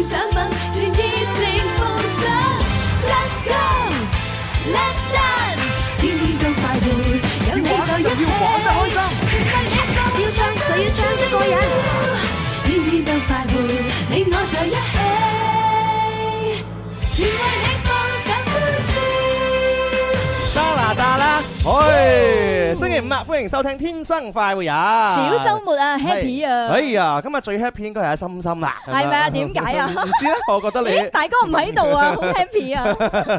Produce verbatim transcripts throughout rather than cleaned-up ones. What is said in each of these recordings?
獎品，全熱情奉上。Let's go，Let's dance， 天天都快活，有你在一起， 玩得開心， 全係一個要唱就要唱得過癮，天天都快活，你我在一起，全為你放上歡笑。 加拿大啦，喂，星期五啊，歡迎收聽《天生快活人》。 小週末啊 ，happy 啊！ 哎呀，今日最 happy 應該係阿心心啦， 係咪啊？點解啊？ 唔知咧，我覺得你咦，大哥唔喺度啊，好 happy 啊！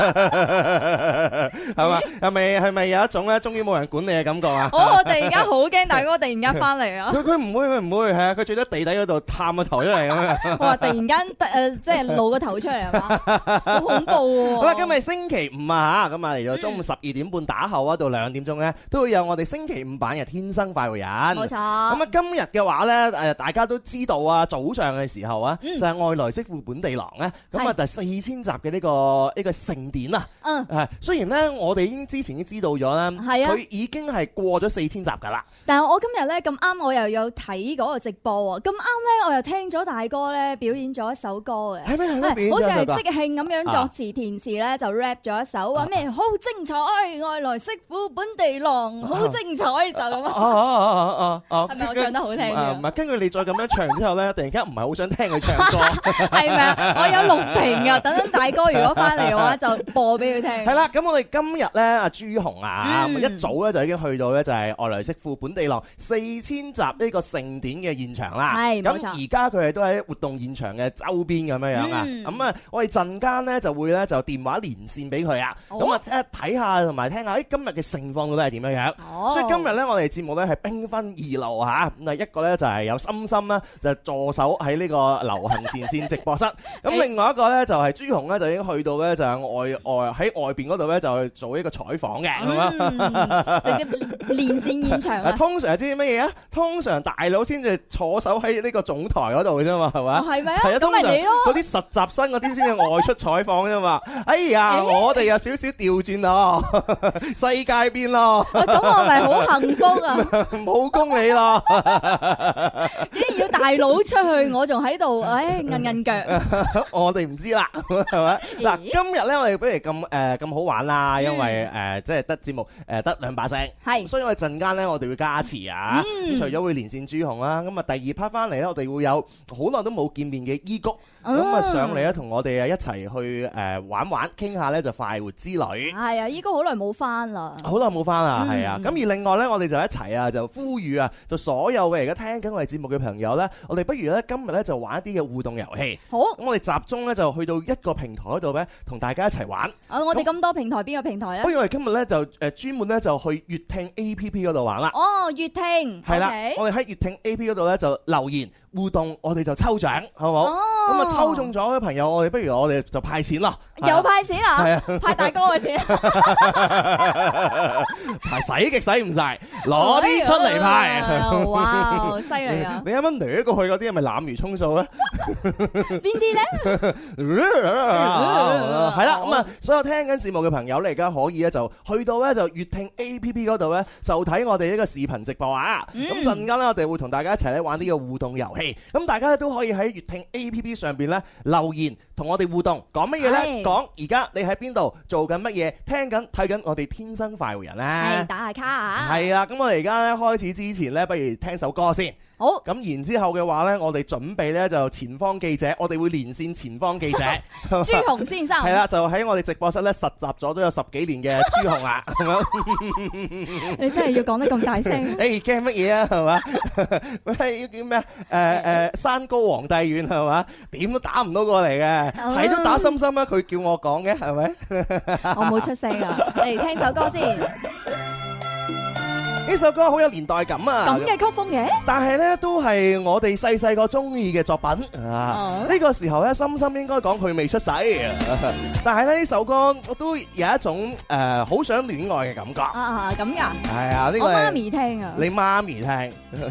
係嘛？係咪係咪有一種咧，終於冇人管你嘅感覺啊？ 我我突然間好驚大哥突然間翻嚟啊！ 佢佢唔會佢唔會係啊！佢最多地底嗰度探個頭出嚟咁樣。 我話突然間誒，即係露個頭出嚟係嘛？好恐怖喎！ 好啦，今日星期五啊嚇，咁啊嚟到中午十二點半打後啊，到兩點鐘咧，都會有我哋星期五版嘅《天生快活人》。 冇錯。咁啊，今日嘅話咧，誒大家都知道啊，早上嘅時候啊，就係外來媳婦本地郎咧，咁啊第四千集嘅呢個呢個盛典啊。嗯。係，雖然咧我哋已經之前已經知道咗啦，係啊，佢已經係過咗四千集㗎啦。 但係我今日咧咁啱，我又有睇嗰個直播喎，咁啱咧我又聽咗大哥咧表演咗一首歌嘅。 係咩？係咩？ 好似係即興咁樣作詞填詞咧，就 rap 咗一首話咩好精彩，外來媳婦本地郎好精彩就咁啊！ 哦哦哦哦哦， 係咪我唱得好聽嘅？ 唔係，根據你再咁樣唱之後咧，突然間唔係好想聽佢唱歌， 係咪啊？我有錄屏㗎，等等大哥如果翻嚟嘅話就播俾佢聽。 係啦，咁我哋今日咧，阿朱紅啊，咁一早咧就已經去到咧就係外來媳婦本地郎四千集呢個盛典嘅現場啦。係，冇錯。咁而家佢哋都喺活動現場嘅周邊咁樣樣啊。咁啊，我哋陣間咧就會咧就電話連線俾佢啊。咁啊，睇下同埋聽下，誒今日嘅盛況到底係點樣樣？所以今日咧，我哋節目咧係兵分二路嚇。咁啊，一個咧就係有心心啦，就助手喺呢個流行前線直播室。咁另外一個咧就係朱紅咧，就已經去到咧就係外外喺外邊嗰度咧就去做一個採訪嘅，係嘛？ 直接連線現場啊！ 通常係知乜嘢啊？通常大佬先至坐守喺呢個總台嗰度嘅啫嘛，係嘛？ 係咪啊？ 係啊， 咁咪你咯。 嗰啲實習生嗰啲先至外出採訪啫嘛。哎呀，我哋有少少調轉咯，世界變咯。 咁我咪好幸福啊！ 冇功你咯， 竟然要大佬出去，我仲喺度，唉，韌韌腳。 我哋唔知啦，係咪？嗱，今日咧我哋不如咁誒咁好玩啦，因為誒即係得節目誒得兩把聲，係，所以我哋陣間咧我哋會加詞啊。咁除咗會連線朱紅啦，咁啊第二 part 翻嚟咧，我哋會有好耐都冇見面嘅伊谷。咁啊上嚟咧，同我哋啊一齊去誒玩玩，傾下咧就快活之旅。 係啊，依哥好耐冇翻啦， 好耐冇翻啦，係啊。咁而另外咧，我哋就一齊啊，就呼籲啊，就所有嘅而家聽緊我哋節目嘅朋友咧，我哋不如咧今日咧就玩一啲嘅互動遊戲。好，咁我哋集中咧就去到一個平台嗰度咧，同大家一齊玩。 啊，我哋咁多平台，邊個平台咧？ 不如我哋今日咧就誒專門咧就去粵聽 A P P 嗰度玩啦。 哦，粵聽係啦，我哋喺粵聽 A P P 嗰度咧就留言互動，我哋就抽獎，好唔好？咁啊抽中咗嘅朋友，我哋不如我哋就派錢咯。 有派錢啊？ 係啊， 派大哥嘅錢。 派使極使唔晒，攞啲出嚟派。 哇，犀利啊！ 你啱啱掠過去嗰啲係咪濫竽充數咧？ 邊啲咧？ 係啦，咁啊，所有聽緊節目嘅朋友咧，而家可以咧就去到咧就粵聽 A P P 嗰度咧，就睇我哋呢個視頻直播啊。咁陣間咧，我哋會同大家一齊咧玩呢個互動遊戲。咁大家咧都可以喺粵聽 A P P 上邊咧留言，同我哋互動，講乜嘢咧？講而家你喺邊度做緊乜嘢？聽緊睇緊我哋天生快活人咧。係打下卡啊！ 係啊，咁我哋而家咧開始之前咧，不如聽首歌先。好，咁然之後嘅話呢，我哋準備呢就前方記者，我哋會連線前方記者朱紅先生， 係啦，就喺我哋直播室呢實習咗都有十幾年嘅朱紅啊，係咪？ 你真係要講得咁大聲？ 誒，驚乜嘢啊？係嘛？喂，要叫咩？誒誒，山高皇帝遠係嘛？點都打唔到過嚟嘅，係都打心心啊！佢叫我講嘅係咪？ 我冇出聲啊！嚟聽首歌先。 呢首歌好有年代感啊！ 咁嘅曲風嘅， 但係咧都係我哋細細個中意嘅作品啊！呢個時候咧，深深應該講佢未出世，但係咧呢首歌我都有一種誒好想戀愛嘅感覺啊！咁噶？ 係啊！呢個我媽咪聽啊！ 你媽咪聽，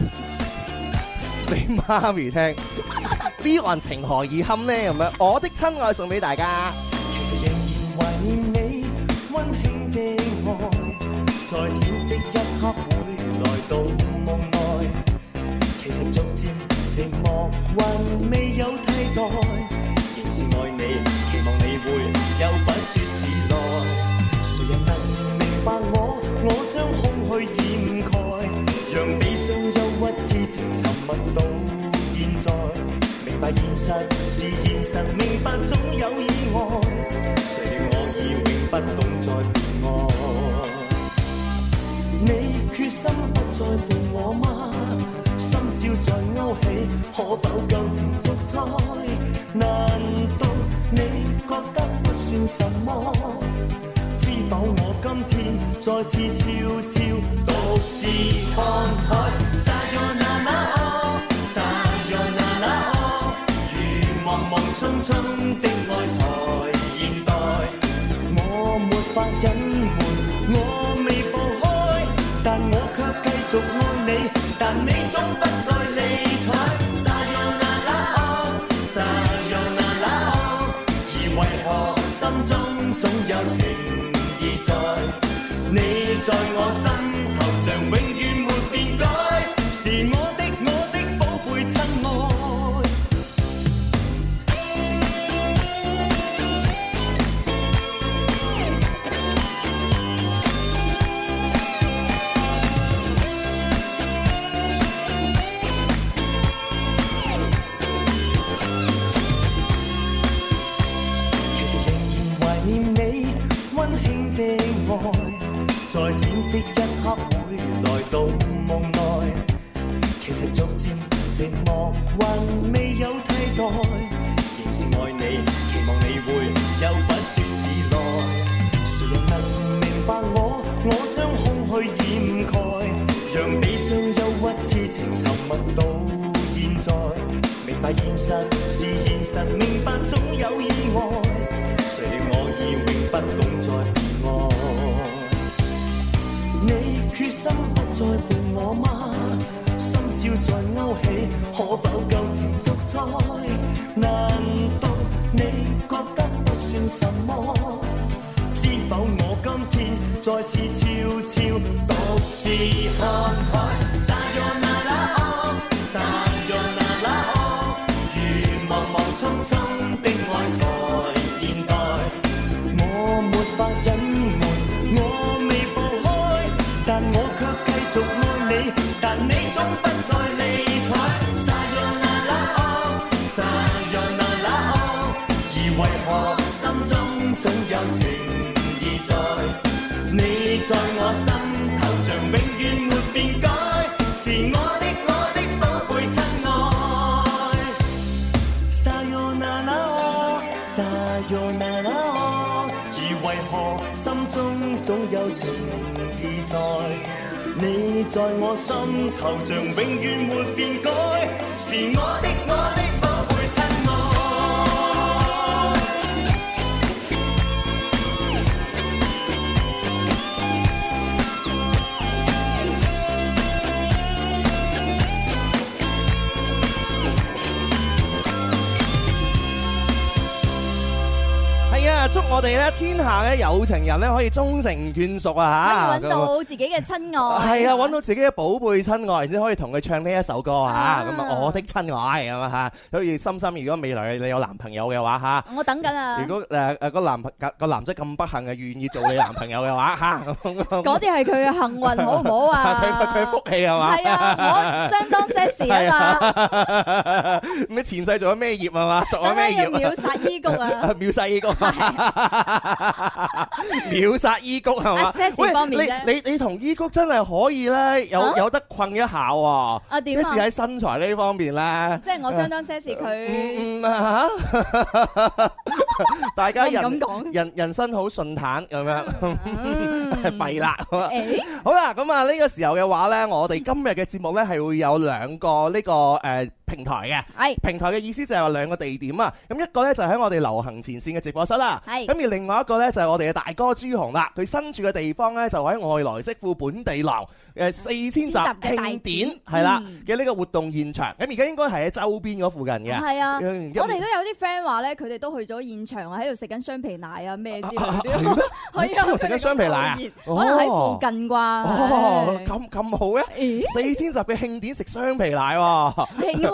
你媽咪聽，呢段情何以堪呢？咁樣，我的親愛送俾大家。 其實仍然懷念你溫馨的愛，在天色一刻會來到夢內。其實逐漸寂寞還未有替代， 仍是愛你，期望你會有不說自來。誰人能明白我？我將空虛掩蓋，讓悲傷憂鬱痴情沉默到現在。明白現實是現實，明白總有意外。誰料我已永不懂再被愛。你決心不再伴我嗎？深宵在勾起，可否舊情復再？難道你覺得不算什麼？知否我今天再次悄悄獨自看海。Sayonara oh Sayonara oh，如茫茫匆匆的愛才現代。我沒法隱瞞，我未放開，但我卻繼續愛你，但你總不再理睬。Sayonara oh Sayonara oh，而為何心中總有情意在？你在我心頭像永遠沒變改，是我的我的寶貝親愛。在天色一刻會來到夢內，其實逐漸寂寞還未有替代，仍是愛你，期望你會有不說自來。誰人能明白我？我將空虛掩蓋，讓悲傷憂鬱痴情沉默到現在。明白現實是現實，明白總有意外。誰料我已永不懂再被愛。你決心不再伴我嗎？深宵在勾起，可否舊情復再？難道你覺得不算什麼？知否我今天再次悄悄獨自看海。Sayonara oh Sayonara oh，如茫茫匆匆的愛才現代。我沒法隱瞞，我未放開，但我卻繼續愛你，但你總不再理睬。Sayonara oh Sayonara oh，而為何心中總有情意在？你在我心頭像永遠沒變改，是我的我的寶貝親愛。Sayonara oh Sayonara oh，而為何心中總有情意在？你在我心頭像永遠沒變改，是我的我的寶貝親愛。 祝我哋咧天下嘅有情人咧可以終成眷屬啊！嚇， 可以揾到自己嘅親愛， 係啊，揾到自己嘅寶貝親愛，然之後可以同佢唱呢一首歌嚇，咁啊，我的親愛咁啊嚇，好似心心，如果未來你有男朋友嘅話嚇， 我等緊啊！ 如果誒誒個男個男仔咁不幸嘅願意做你男朋友嘅話嚇， 嗰啲係佢嘅幸運，好唔好啊？ 佢佢佢福氣係嘛？ 係啊，我相當 sexy 啊嘛！ 咁你前世做咗咩業係嘛？做咗咩業？ 秒殺伊谷啊！ 秒殺伊谷。秒殺伊谷係嘛？喂，你你你同伊谷真係可以咧，有有得困一下喎。 啊點啊？ 即係喺身材呢方面咧。 即係我相當 sexy 佢。 嗯啊嚇！大家人人人生好順坦咁樣，弊啦。好啦，咁啊呢個時候嘅話咧，我哋今日嘅節目咧係會有兩個呢個誒平台嘅。係平台嘅意思就係話兩個地點啊。咁一個咧就喺我哋流行前線嘅直播室啦。係。咁而另外一個咧就係我哋嘅大哥朱紅啦。佢身處嘅地方咧就喺外來媳婦本地郎誒四千集慶典係啦嘅呢個活動現場。咁而家應該係喺周邊嗰附近嘅。係啊。我哋都有啲 friend 話咧，佢哋都去咗現場啊，喺度食緊雙皮奶啊咩之類嗰啲。係啊，食緊雙皮奶啊？可能喺附近啩。哦，咁咁好嘅。四千集嘅慶典食雙皮奶喎。慶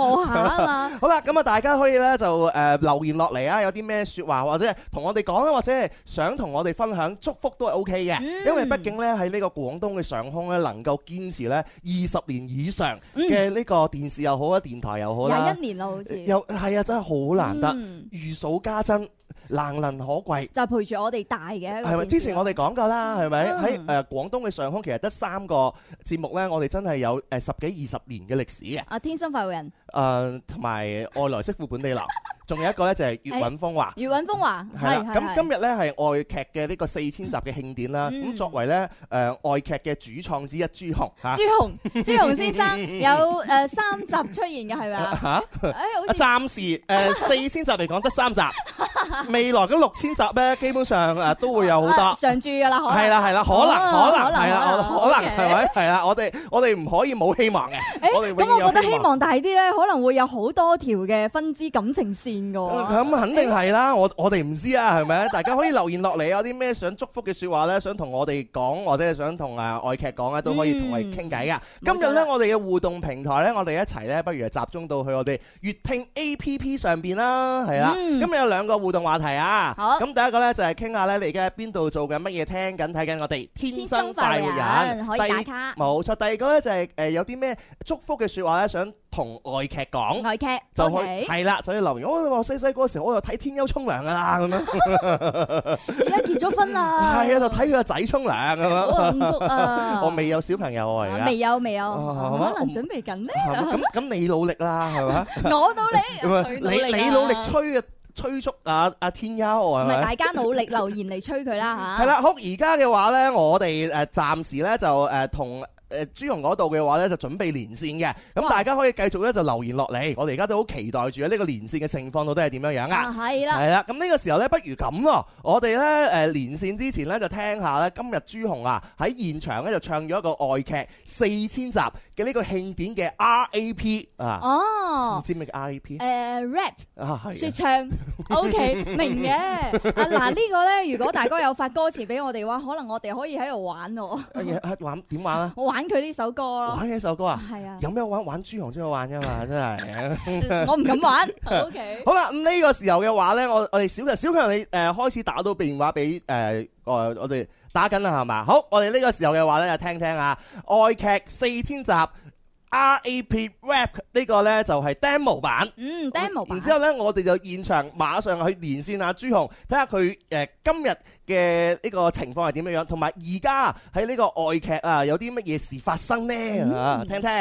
賀下啊嘛。 好啦，咁啊，大家可以咧就誒留言落嚟啊，有啲咩説話或者同我哋講啊，或者係想同我哋分享祝福都係 O K 嘅，因為畢竟咧喺呢個廣東嘅上空咧能夠堅持咧二十年以上嘅呢個電視又好啊，電台又好啦， 廿一年啦好似。 又係啊，真係好難得，如數家珍。難能可貴， 就陪住我哋大嘅。 係咪？之前我哋講過啦，係咪？喺誒廣東嘅上空，其實得三個節目咧，我哋真係有誒十幾二十年嘅歷史嘅。 啊，天生快活人。 誒，同埋外來媳婦本地郎，仲有一個咧就係粵韻風華。 粵韻風華係啦。咁今日咧係外劇嘅呢個四千集嘅慶典啦。咁作為咧誒外劇嘅主創之一，朱紅嚇。朱紅，朱紅先生有誒三集出現嘅係咪啊？嚇！誒，好似暫時誒四千集嚟講得三集。未來嗰六千集咧，基本上誒都會有好多常駐㗎啦， 係啦係啦，可能可能係啦，可能係咪係啦？我哋我哋唔可以冇希望嘅。我哋咁我覺得希望大啲咧，可能會有好多條嘅分支感情線㗎。 咁肯定係啦，我我哋唔知啊，係咪？大家可以留言落嚟，有啲咩想祝福嘅説話咧，想同我哋講，或者係想同誒外劇講咧，都可以同我哋傾偈㗎。今日咧，我哋嘅互動平台咧，我哋一齊咧，不如集中到去我哋粵聽 A P P 上邊啦，係啦。今日有兩個互動話題啊。好，咁第一個咧就係傾下咧，你而家喺邊度做緊乜嘢？聽緊睇緊我哋天生快活人， 可以打卡。 冇錯，第二個咧就係誒有啲咩祝福嘅説話咧，想同外劇講。 外劇就可以係啦，就要留言。我話細細個時候我就睇天庥沖涼噶啦，咁樣。 而家結咗婚啦。係啊，就睇佢個仔沖涼咁樣。 好幸福啊！ 我未有小朋友啊，而家未有未有，可能準備緊咧。 咁咁你努力啦，係嘛？ 我努力， 你你努力催啊！催促啊啊天庥係咪？ 大家努力留言嚟催佢啦嚇。 係啦，好而家嘅話咧，我哋誒暫時咧就誒同誒朱紅嗰度嘅話咧就準備連線嘅，咁大家可以繼續咧就留言落嚟。我哋而家都好期待住呢個連線嘅情況到底係點樣樣啊？係啦，係啦。咁呢個時候咧，不如咁喎，我哋咧誒連線之前咧就聽下咧今日朱紅啊喺現場咧就唱咗一個外劇四千集嘅呢個慶典嘅 R A P 啊。哦，唔知咩叫 R A P？ 誒 rap 啊，係説唱。O K 明嘅。啊嗱呢個咧，如果大家有發歌詞俾我哋嘅話，可能我哋可以喺度玩喎。 玩點玩啊？ 我玩佢呢首歌咯。 玩呢首歌啊？ 係啊。 有咩玩？玩朱紅先好玩啫嘛，真係。 我唔敢玩。O K。好啦，咁呢個時候嘅話咧，我我哋小強小強你誒開始打到電話俾誒我我哋打緊啦係嘛？好，我哋呢個時候嘅話咧就聽聽啊，外劇四千集。R A P Rap 呢個呢就係 demo 版， 嗯 demo 版。 然之後呢，我哋就現場馬上去連線阿朱紅，睇下佢誒今日嘅呢個情況係點樣樣，同埋而家喺呢個外劇啊有啲乜嘢事發生呢？啊、嗯，聽聽。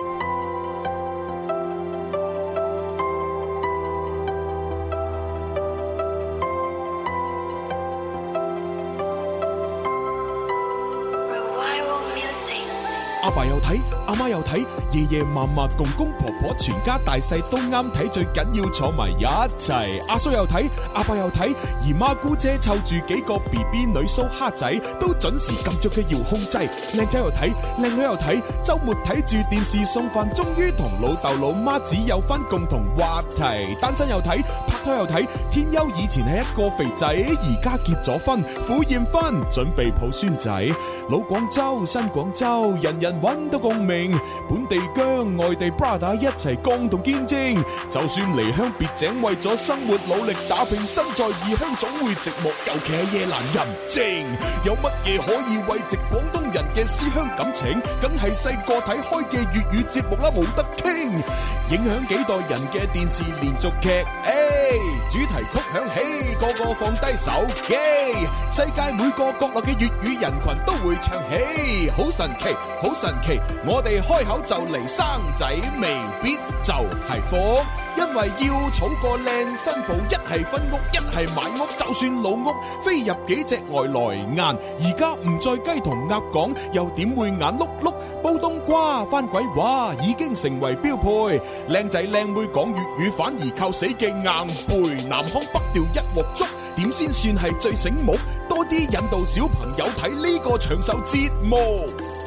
阿爸又睇，阿媽又睇，爺爺嫲嫲、公公婆婆，全家大細都啱睇，最緊要坐埋一齊。阿叔又睇，阿伯又睇，姨媽姑姐湊住幾個 B B 女蘇蝦仔，都準時撳着嘅遙控掣。靚仔又睇，靚女又睇，週末睇住電視送飯，終於同老豆老媽子有翻共同話題。單身又睇，拍拖又睇，天庥以前係一個肥仔，而家結咗婚，婦驗婚，準備抱孫仔。老廣州、新廣州，人人揾到共鳴，本地姜、外地 brother 一齊共同見證。就算離鄉別井，為咗生活努力打拼，身在異鄉總會寂寞，尤其係夜闌人靜。有乜嘢可以慰藉廣東人嘅思鄉感情？梗係細個睇開嘅粵語節目啦，冇得傾。影響幾代人嘅電視連續劇，誒，主題曲響起，個個放低手機。世界每個角落嘅粵語人群都會唱起，好神奇，好神奇。我哋開口就嚟生仔，未必就係福，因為要儲個靚新抱，一係分屋，一係買屋，就算老屋飛入幾隻外來雁，而家唔再雞同鴨講，又點會眼碌碌？煲冬瓜翻鬼話已經成為標配，靚仔靚妹講粵語反而靠死記硬背，南腔北調一鑊粥，點先算係最醒目？多啲引導小朋友睇呢個長壽節目。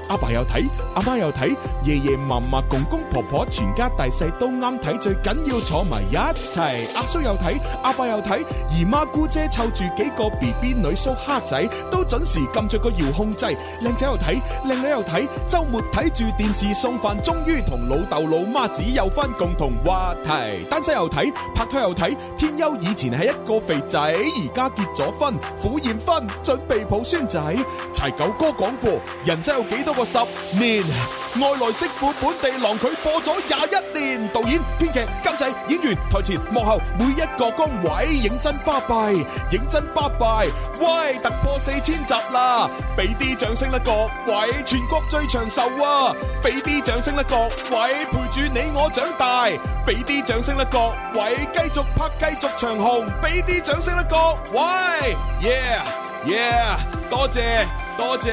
阿爸又睇，阿媽又睇，爺爺嫲嫲、公公婆婆，全家大細都啱睇，最緊要坐埋一齊。阿叔又睇，阿伯又睇，姨媽姑姐湊住幾個 B B 女叔蝦仔，都準時撳着個遙控掣。靚仔又睇，靚女又睇，週末睇住電視送飯，終於同老豆老媽子有翻共同話題。單身又睇，拍拖又睇，天庥以前係一個肥仔，而家結咗婚，婦驗婚，準備抱孫仔。柴九哥講過，人生有幾多個十年？外來媳婦本地郎佢播咗廿一年，導演、編劇、監製、演員、台前幕後每一個崗位，認真巴閉，認真巴閉。喂，突破四千集啦，俾啲掌聲啦各位，全國最長壽啊！俾啲掌聲啦各位，陪住你我長大。俾啲掌聲啦各位，繼續拍繼續長紅。俾啲掌聲啦各位 ，yeah yeah， 多謝多謝。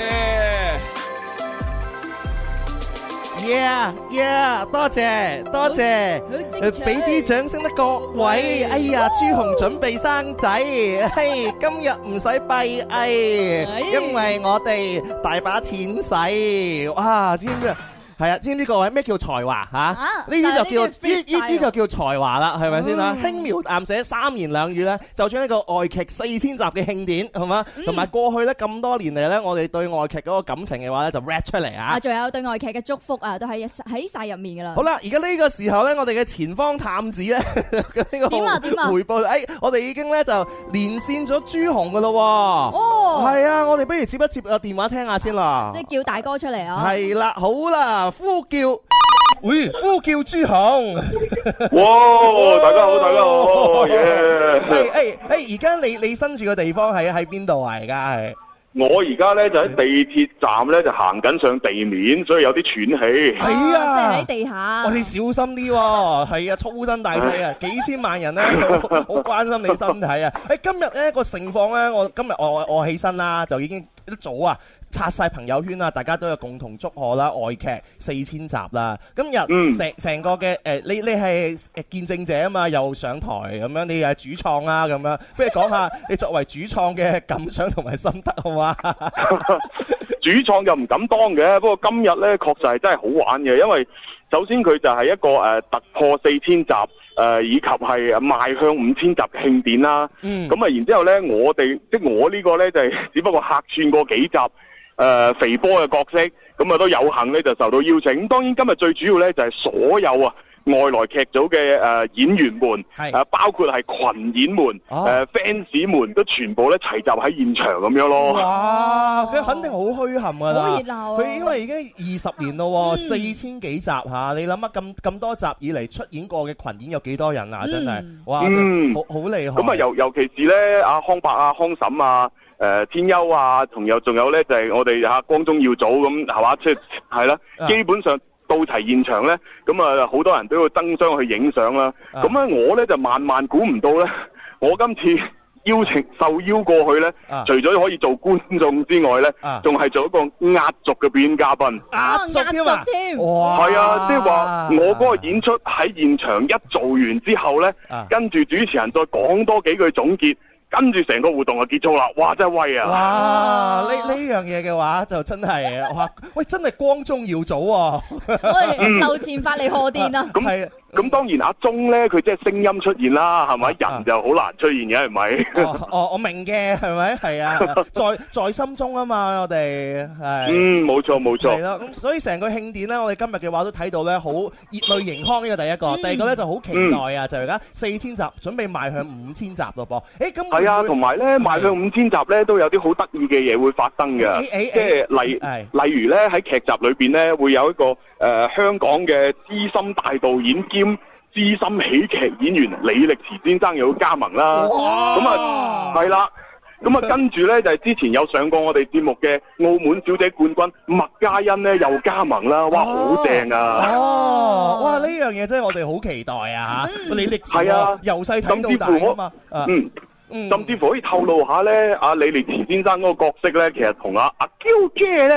Yeah yeah， 多謝多謝，俾啲掌聲啦各位。哎呀，朱紅準備生仔，嘿，今日唔使閉翳，因為我哋大把錢使。哇，知唔知啊？係啊，知唔知各位咩叫才華嚇？呢啲就叫呢呢呢個叫才華啦，係咪先啊？輕描淡寫三言兩語咧，就將呢個外劇四千集嘅慶典係嘛，同埋過去咧咁多年嚟咧，我哋對外劇嗰個感情嘅話咧，就 rap 出嚟啊！啊， 仲有對外劇嘅祝福啊，都喺喺曬入面噶啦。 好啦，而家呢個時候咧，我哋嘅前方探子咧呢個點啊點啊回報，誒，我哋已經咧就連線咗朱紅噶咯喎。 哦， 係啊，我哋不如接一接個電話聽下先啦。 即係叫大哥出嚟啊！ 係啦，好啦。呼叫，喂，呼叫朱紅。 哇，大家好，大家好，耶！ 誒誒誒，而家你你身處嘅地方係喺邊度啊？而家係我而家咧就喺地鐵站咧就行緊上地面，所以有啲喘氣。 係啊， 即係喺地下。 我哋小心啲喎，係啊，粗身大細啊，幾千萬人咧好關心你身體啊！誒，今日咧個情況咧，我今日我我起身啦，就已經一早啊。刷晒朋友圈啊！大家都有共同祝賀啦，外劇四千集啦。今日成成個嘅誒、呃，你你係誒見證者啊嘛，又上台咁樣，你係主創啊咁樣，不如講下你作為主創嘅感想同埋心得好嘛？ 主創又唔敢當嘅，不過今日呢確實係真係好玩嘅，因為首先佢就係一個誒、呃、突破四千集。誒、呃、以及係邁向五千集嘅慶典啦，咁啊、嗯、然之後呢，我哋即係我呢個呢，就係、是、只不過客串過幾集誒、呃、肥波嘅角色，咁啊都有幸呢，就受到邀請。咁當然今日最主要呢，就係、是、所有啊外來劇組嘅誒、呃、演員們，誒是、呃、包括係群演們、誒、哦呃、fans 們都全部咧齊集喺現場咁樣咯。哇！ 佢肯定好墟冚㗎啦， 好熱鬧啊！ 佢因為已經二十年咯，嗯、四千幾集嚇，你諗下咁咁多集以嚟出演過嘅群演有幾多人啊？真係，哇！嗯、好好厲害。 咁啊，尤尤其是咧，阿康伯啊、康嬸啊、誒、呃、天庥啊，同有仲有咧就係、是、我哋嚇光宗耀祖咁係嘛，即係係啦，基本上。到齊現場呢，咁啊好多人都要爭相去影相啦。咁咧、啊、我呢就萬萬估唔到呢，我今次邀請受邀過去呢，啊、除咗可以做觀眾之外呢，仲係、啊、做一個壓軸嘅表演嘉賓。 壓軸添啊！ 哇！係啊，即係話我嗰個演出喺現場一做完之後呢，啊、跟住主持人再講多幾句總結。跟住成個活動就結束啦！哇，真係威啊！ 哇，呢呢樣嘢嘅話就真係哇，喂，真係光宗耀祖喎！ 喂，樓前發嚟賀電啊！ 咁係，咁當然阿鐘咧，佢即係聲音出現啦，係咪？人就好難出現嘅，係咪？ 哦，我明嘅，係咪？係啊，在在心中啊嘛，我哋係。 嗯，冇錯冇錯。 係咯，咁所以成個慶典咧，我哋今日嘅話都睇到咧，好熱淚盈眶呢個第一個，第二個咧就好期待啊！就而家四千集，準備邁向五千集咯噃。誒，咁。 係啊，同埋咧，邁向五千集咧，都有啲好得意嘅嘢會發生嘅，即係例例如咧喺劇集裏邊咧，會有一個誒香港嘅資深大導演兼資深喜劇演員李力持先生又要加盟啦。咁啊，係啦，咁啊跟住咧就係之前有上過我哋節目嘅澳門小姐冠軍麥嘉欣咧又加盟啦。哇，好正啊！ 哦，哇，呢樣嘢真係我哋好期待啊！嚇，李力持係啊，由細睇到大啊嘛。嗯。 嗯、甚至乎可以透露下咧，阿李力持先生嗰個角色咧，其實同阿阿嬌姐咧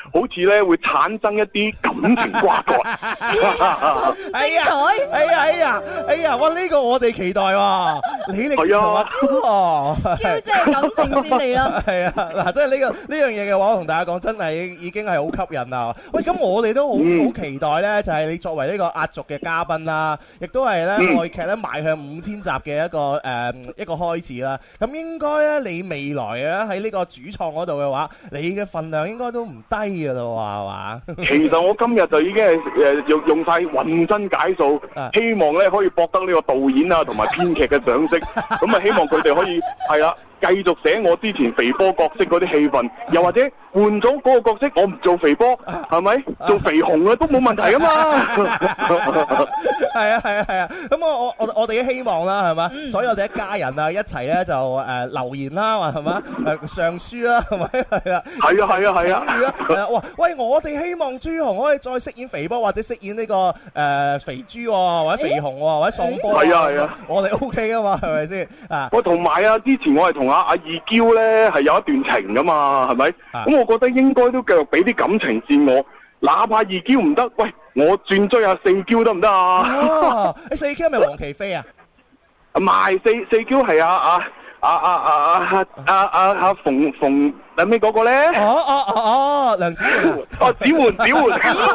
好似咧會產生一啲感情瓜葛。 哎呀，哎呀，哎呀，哎呀，哇！呢個我哋期待喎，你嚟同阿嬌， 嬌姐感情先嚟啦。 係啊，嗱，即係呢個呢樣嘢嘅話，我同大家講，真係已經係好吸引啦。喂，咁我哋都好好期待咧，就係你作為呢個壓軸嘅嘉賓啦，亦都係咧愛劇咧邁向五千集嘅一個誒一個開始啦。咁應該咧，你未來啊喺呢個主創嗰度嘅話，你嘅份量應該都唔低噶啦，係嘛？ 其實我今日就已經係誒用用晒渾身解數，希望咧可以博得呢個導演啊同埋編劇嘅賞識。咁啊，希望佢哋可以係啦，繼續寫我之前肥波角色嗰啲戲份，又或者換咗嗰個角色，我唔做肥波，係咪做肥紅啊都冇問題啊嘛。 係啊係啊係啊，咁我我我我哋嘅希望啦，係嘛，所以我哋一家人啊一齊咧就誒留言啦，話係嘛誒上書啦，係咪係啊？ 係啊係啊係啊！ 係啊！哇喂，我哋希望朱紅可以再飾演肥波，或者飾演呢個誒肥豬，或者肥紅，或者喪波。 係啊係啊， 我哋 O K 噶嘛，係咪先啊？ 我同埋啊，之前我係同阿阿二嬌咧係有一段情噶嘛，係咪？咁我覺得應該都繼續俾啲感情線我，哪怕二嬌唔得，喂，我轉追下四嬌得唔得啊？ 你四嬌係咪黃琪飛啊？ 唔係，四四嬌係啊啊啊啊啊啊啊啊馮馮係咩嗰個咧？ 哦哦哦哦，梁子媛。 哦，子媛子媛。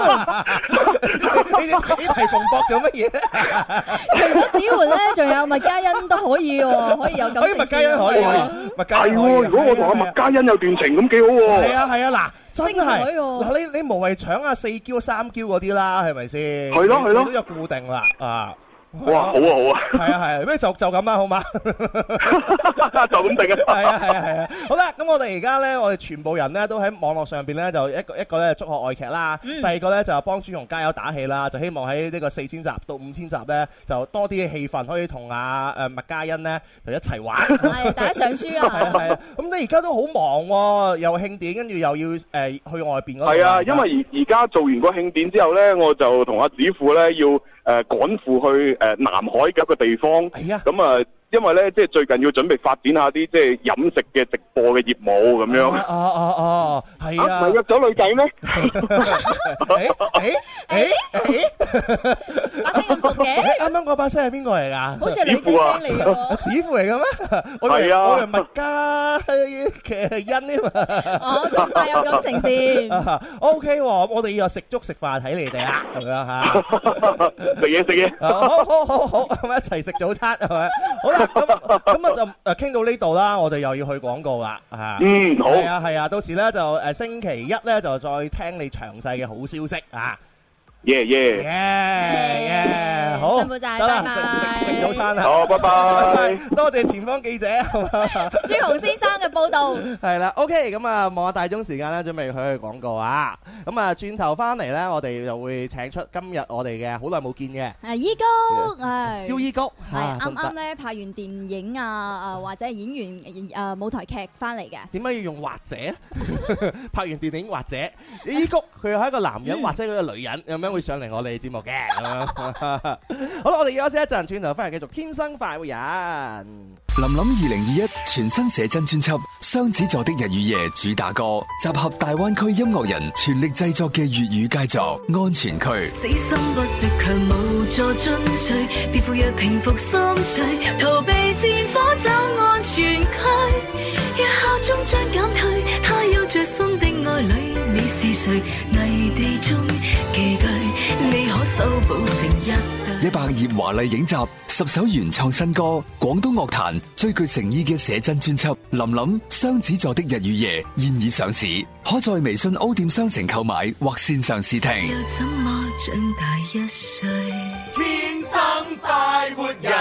你你你提馮博做乜嘢？ 除咗子媛咧，仲有麥嘉欣都可以喎，可以有感情。 麥嘉欣可以，麥嘉欣係喎。如果我同阿麥嘉欣有段情咁幾好喎。係啊係啊，嗱，真係嗱，你你無謂搶阿四嬌三嬌嗰啲啦，係咪先？係咯係咯， 都有固定啦啊！ 哇，好啊好啊， 係啊係啊，咩就就咁啦，好嘛？ 就咁定啊！ 係啊係啊係啊，好啦，咁我哋而家咧，我哋全部人咧都喺網絡上邊咧，就一個一個咧祝賀愛劇啦，第二個咧就幫朱紅加油打氣啦，就希望喺呢個四千集到五千集咧，就多啲嘅氣氛可以同阿誒麥嘉欣咧就一齊玩。 係，大家上書啦。 係啊係啊，咁你而家都好忙喎，又慶典，跟住又要誒去外邊嗰度。 係啊，因為而而家做完個慶典之後咧，我就同阿子富咧要。誒趕赴去誒南海嘅一個地方，咁啊，因為咧即係最近要準備發展下啲即係飲食嘅直播嘅業務咁樣。 哦哦哦，係啊！ 唔係約咗女仔咩？ 誒誒誒， 把聲咁熟嘅？ 啱啱嗰把聲係邊個嚟㗎？ 好似係女仔聲嚟㗎。 子富嚟嘅咩？ 係啊， 我係麥嘉欣添啊！ 哦，咁快有感情線。 O K 喎，我哋又食粥食飯睇你哋啊，係咪啊嚇？ 食嘢食嘢， 好好好好，咁一齊食早餐係咪？好啦，咁咁啊就誒傾到呢度啦，我哋又要去廣告啦，嚇。嗯，好。係啊係啊，到時咧就誒星期一咧就再聽你詳細嘅好消息啊！ 耶耶耶耶，好， 辛苦晒，拜拜。 食食早餐啊！ 好，拜拜。 多謝前方記者朱紅先生嘅報導。係啦 ，OK，咁啊望下大鐘時間咧，準備去去廣告啊！咁啊轉頭翻嚟咧，我哋就會請出今日我哋嘅好耐冇見嘅係依谷，係蕭依谷， 係啱啱咧拍完電影啊啊或者演員誒舞台劇翻嚟嘅。點解要用或者？拍完電影或者依谷佢係一個男人或者佢個女人咁樣。會上嚟我哋節目嘅，好啦，我哋休息一陣，轉頭翻嚟繼續天生快活人。 林林二零二一全新寫真專輯《雙子座的日與夜》主打歌，集合大灣區音樂人全力製作嘅粵語佳作《安全區》。 死心不息強無助進取，別赴約平復心緒，逃避戰火走安全區。若效終將減退，他有着新的愛侶，你是誰？泥地中寄居，你可修補成一對。 一百頁華麗影集，十首原創新歌，廣東樂壇最具誠意嘅寫真專輯《林林雙子座的日與夜》現已上市，可在微信 O 店商城購買或線上試聽。 要怎麼長大一歲？ 天生快活人，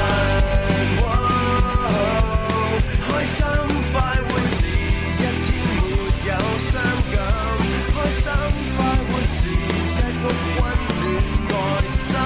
開心快活是一天沒有傷感，開心快活是一屋溫暖愛心，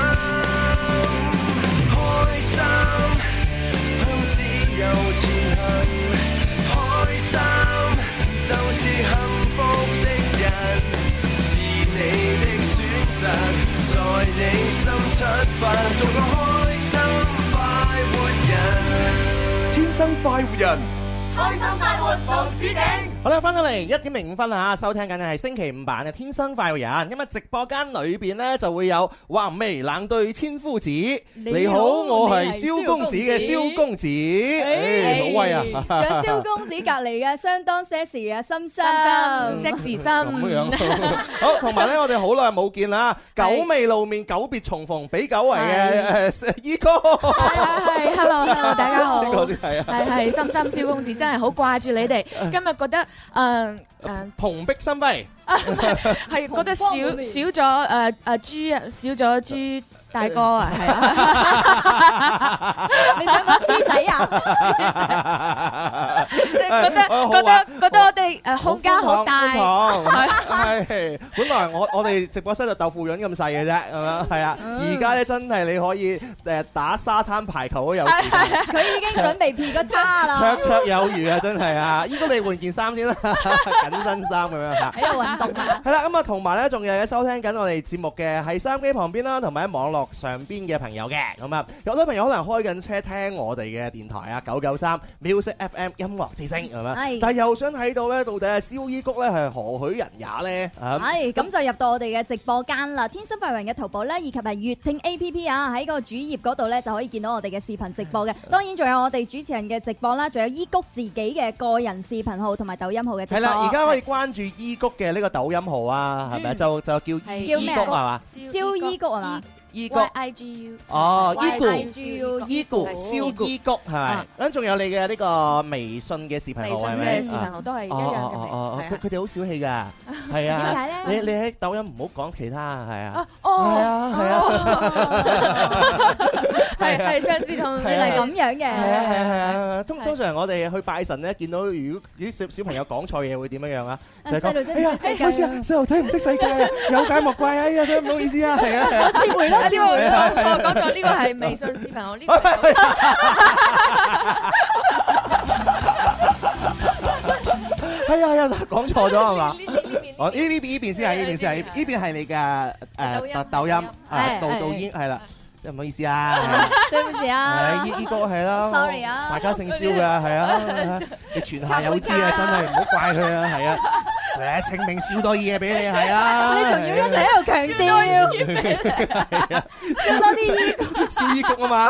開心向自由前行，開心就是幸福的人，是你的選擇，在你心出發，做個開心快活人。 天生快活人， 開心快活無止境。 好啦，翻到嚟一點零五分啊，收聽緊嘅係星期五版嘅《天生快活人》。咁啊，直播間裏邊呢就會有橫眉冷對千夫子。你好，我係蕭公子嘅蕭公子，誒，好威啊！ 仲有蕭公子隔離嘅相當 sexy 嘅心心 sexy 心咁樣。好，同埋咧，我哋好耐冇見啦，久未露面，久別重逢，比久違嘅誒依哥。 係，hello hello，大家好。 係啊， 係係，心心蕭公子真係好掛住你哋，今日覺得。誒誒， 蓬蓽生輝， 係覺得少少咗誒誒豬啊，少咗豬大哥啊，係啊， 你想講豬仔啊？ 即係覺得覺得覺得我哋誒空間好大， 係本來我我哋直播室就豆腐潤咁細嘅啫，係咪？係啊，而家咧真係你可以誒打沙灘排球都有時間， 佢已經準備撇個叉啦， 綽綽有餘啊！真係啊，依家你換件衫先啦，緊身衫咁樣嚇， 喺度運動啊！ 係啦，咁啊同埋咧仲有收聽緊我哋節目嘅喺收音機旁邊啦，同埋喺網絡上邊嘅朋友嘅，咁啊有好多朋友可能開緊車聽我哋嘅電台啊，九九三 Music F M 音樂之聲係咪？但係又想睇到咧，到底係蕭依谷咧係何許人也咧？ 係咁就入到我哋嘅直播間啦，天生快活人嘅淘寶咧，以及係粵聽 A P P 啊，喺個主頁嗰度咧就可以見到我哋嘅視頻直播嘅。當然仲有我哋主持人嘅直播啦，仲有依谷自己嘅個人視頻號同埋抖音號嘅直播。 係啦，而家可以關注依谷嘅呢個抖音號啊，係咪？就就叫依谷係嘛？ 蕭依谷係嘛？ 依谷 I G U 哦，依谷依谷蕭依谷係咪？咁仲有你嘅呢個微信嘅視頻號係咪？ 微信嘅視頻號都係一樣嘅。 哦哦哦，佢佢哋好小氣㗎，係啊。 點解咧？ 你你喺抖音唔好講其他係啊。 哦， 係啊係啊。 係係上次同原來咁樣嘅。 係啊係啊係啊。通通常我哋去拜神咧，見到如果啲小小朋友講錯嘢會點樣樣啊？ 細路仔唔識世界。 好似啊，細路仔唔識世界啊，有解莫怪啊！哎呀，真係唔好意思啊，係啊係啊。 我知會啦。 呢個講錯講錯，呢個係微信視頻號呢個。 係啊係啊，講錯咗係嘛？哦，呢邊呢邊先係呢邊先係，呢邊係你嘅誒抖抖音啊，導導演係啦，真係唔好意思啊， 對唔住啊， 依依個係啦 sorry 啊， 大家姓蕭㗎係啊，你全下有知啊，真係唔好怪佢啊，係啊。誒，清明燒多嘢俾你係啊！ 你仲要一直喺度強調，燒多啲衣， 燒衣谷啊嘛！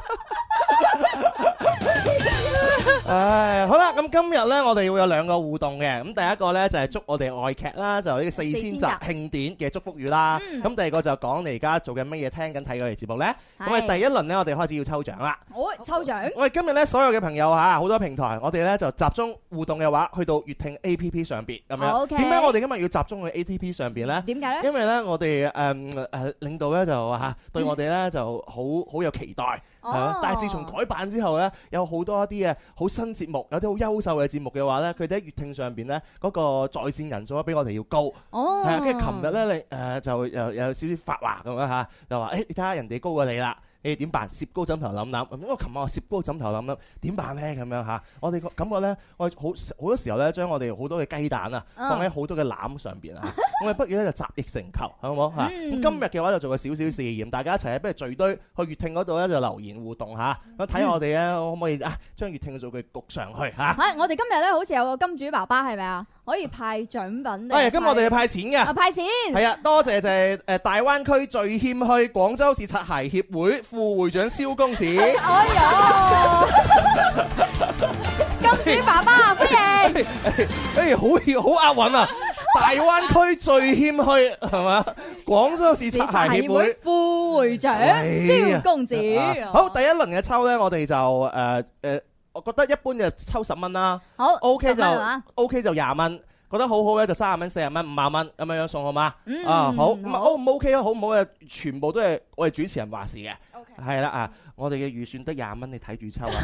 唉，好啦，咁今日咧，我哋會有兩個互動嘅。咁第一個咧就係祝我哋外劇啦，就呢個四千集慶典嘅祝福語啦。咁第二個就講你而家做緊乜嘢，聽緊睇我哋節目咧。咁我哋第一輪咧，我哋開始要抽獎啦。 好，抽獎！ 我哋今日咧，所有嘅朋友嚇，好多平台，我哋咧就集中互動嘅話，去到粵聽 A P P 上邊咁樣。點解我哋今日要集中去 A P P 上邊咧？ 點解咧？ 因為咧，我哋誒誒領導咧就話嚇對我哋咧就好好有期待。係，但係自從改版之後咧，有好多一啲嘅好新節目，有啲好優秀嘅節目嘅話咧，佢哋喺粵聽上邊咧嗰個在線人數咧比我哋要高。 哦， 係啊，跟住琴日咧，你誒就又有少少發話咁樣嚇，就話誒你睇下人哋高過你啦。你點辦？攝高枕頭諗諗，因為琴晚我攝高枕頭諗諗點辦咧？咁樣嚇，我哋個感覺咧，我好好多時候咧，將我哋好多嘅雞蛋啊，放喺好多嘅籃上邊啊，我哋不如咧就集腋成裘，好唔好嚇？咁今日嘅話就做個少少試驗，大家一齊不如聚堆去粵聽嗰度咧就留言互動嚇，咁睇我哋咧可唔可以啊將粵聽嘅數據焗上去嚇？ 嚇！我哋今日咧好似有個金主爸爸係咪啊？可以派獎品。 係，今日我哋要派錢嘅。 啊，派錢。 係啊，多謝就係誒大灣區最謙虛廣州市擦鞋協會副會長蕭公子。 哎呀！金主爸爸歡迎。 誒，好好押韻啊！大灣區最謙虛係嘛？廣州市擦鞋協會副會長蕭公子。 好，第一輪嘅抽咧，我哋就誒誒。我覺得一般就抽十蚊啦， 好 OK 就 OK 就廿蚊，覺得好好咧就三十蚊、四十蚊、五十蚊咁樣樣送好嗎？ 嗯、 啊好，咁啊 O 唔 OK 啊？好唔好啊？全部都係我哋主持人話事嘅，係啦啊！我哋嘅預算得廿蚊，你睇住抽啊！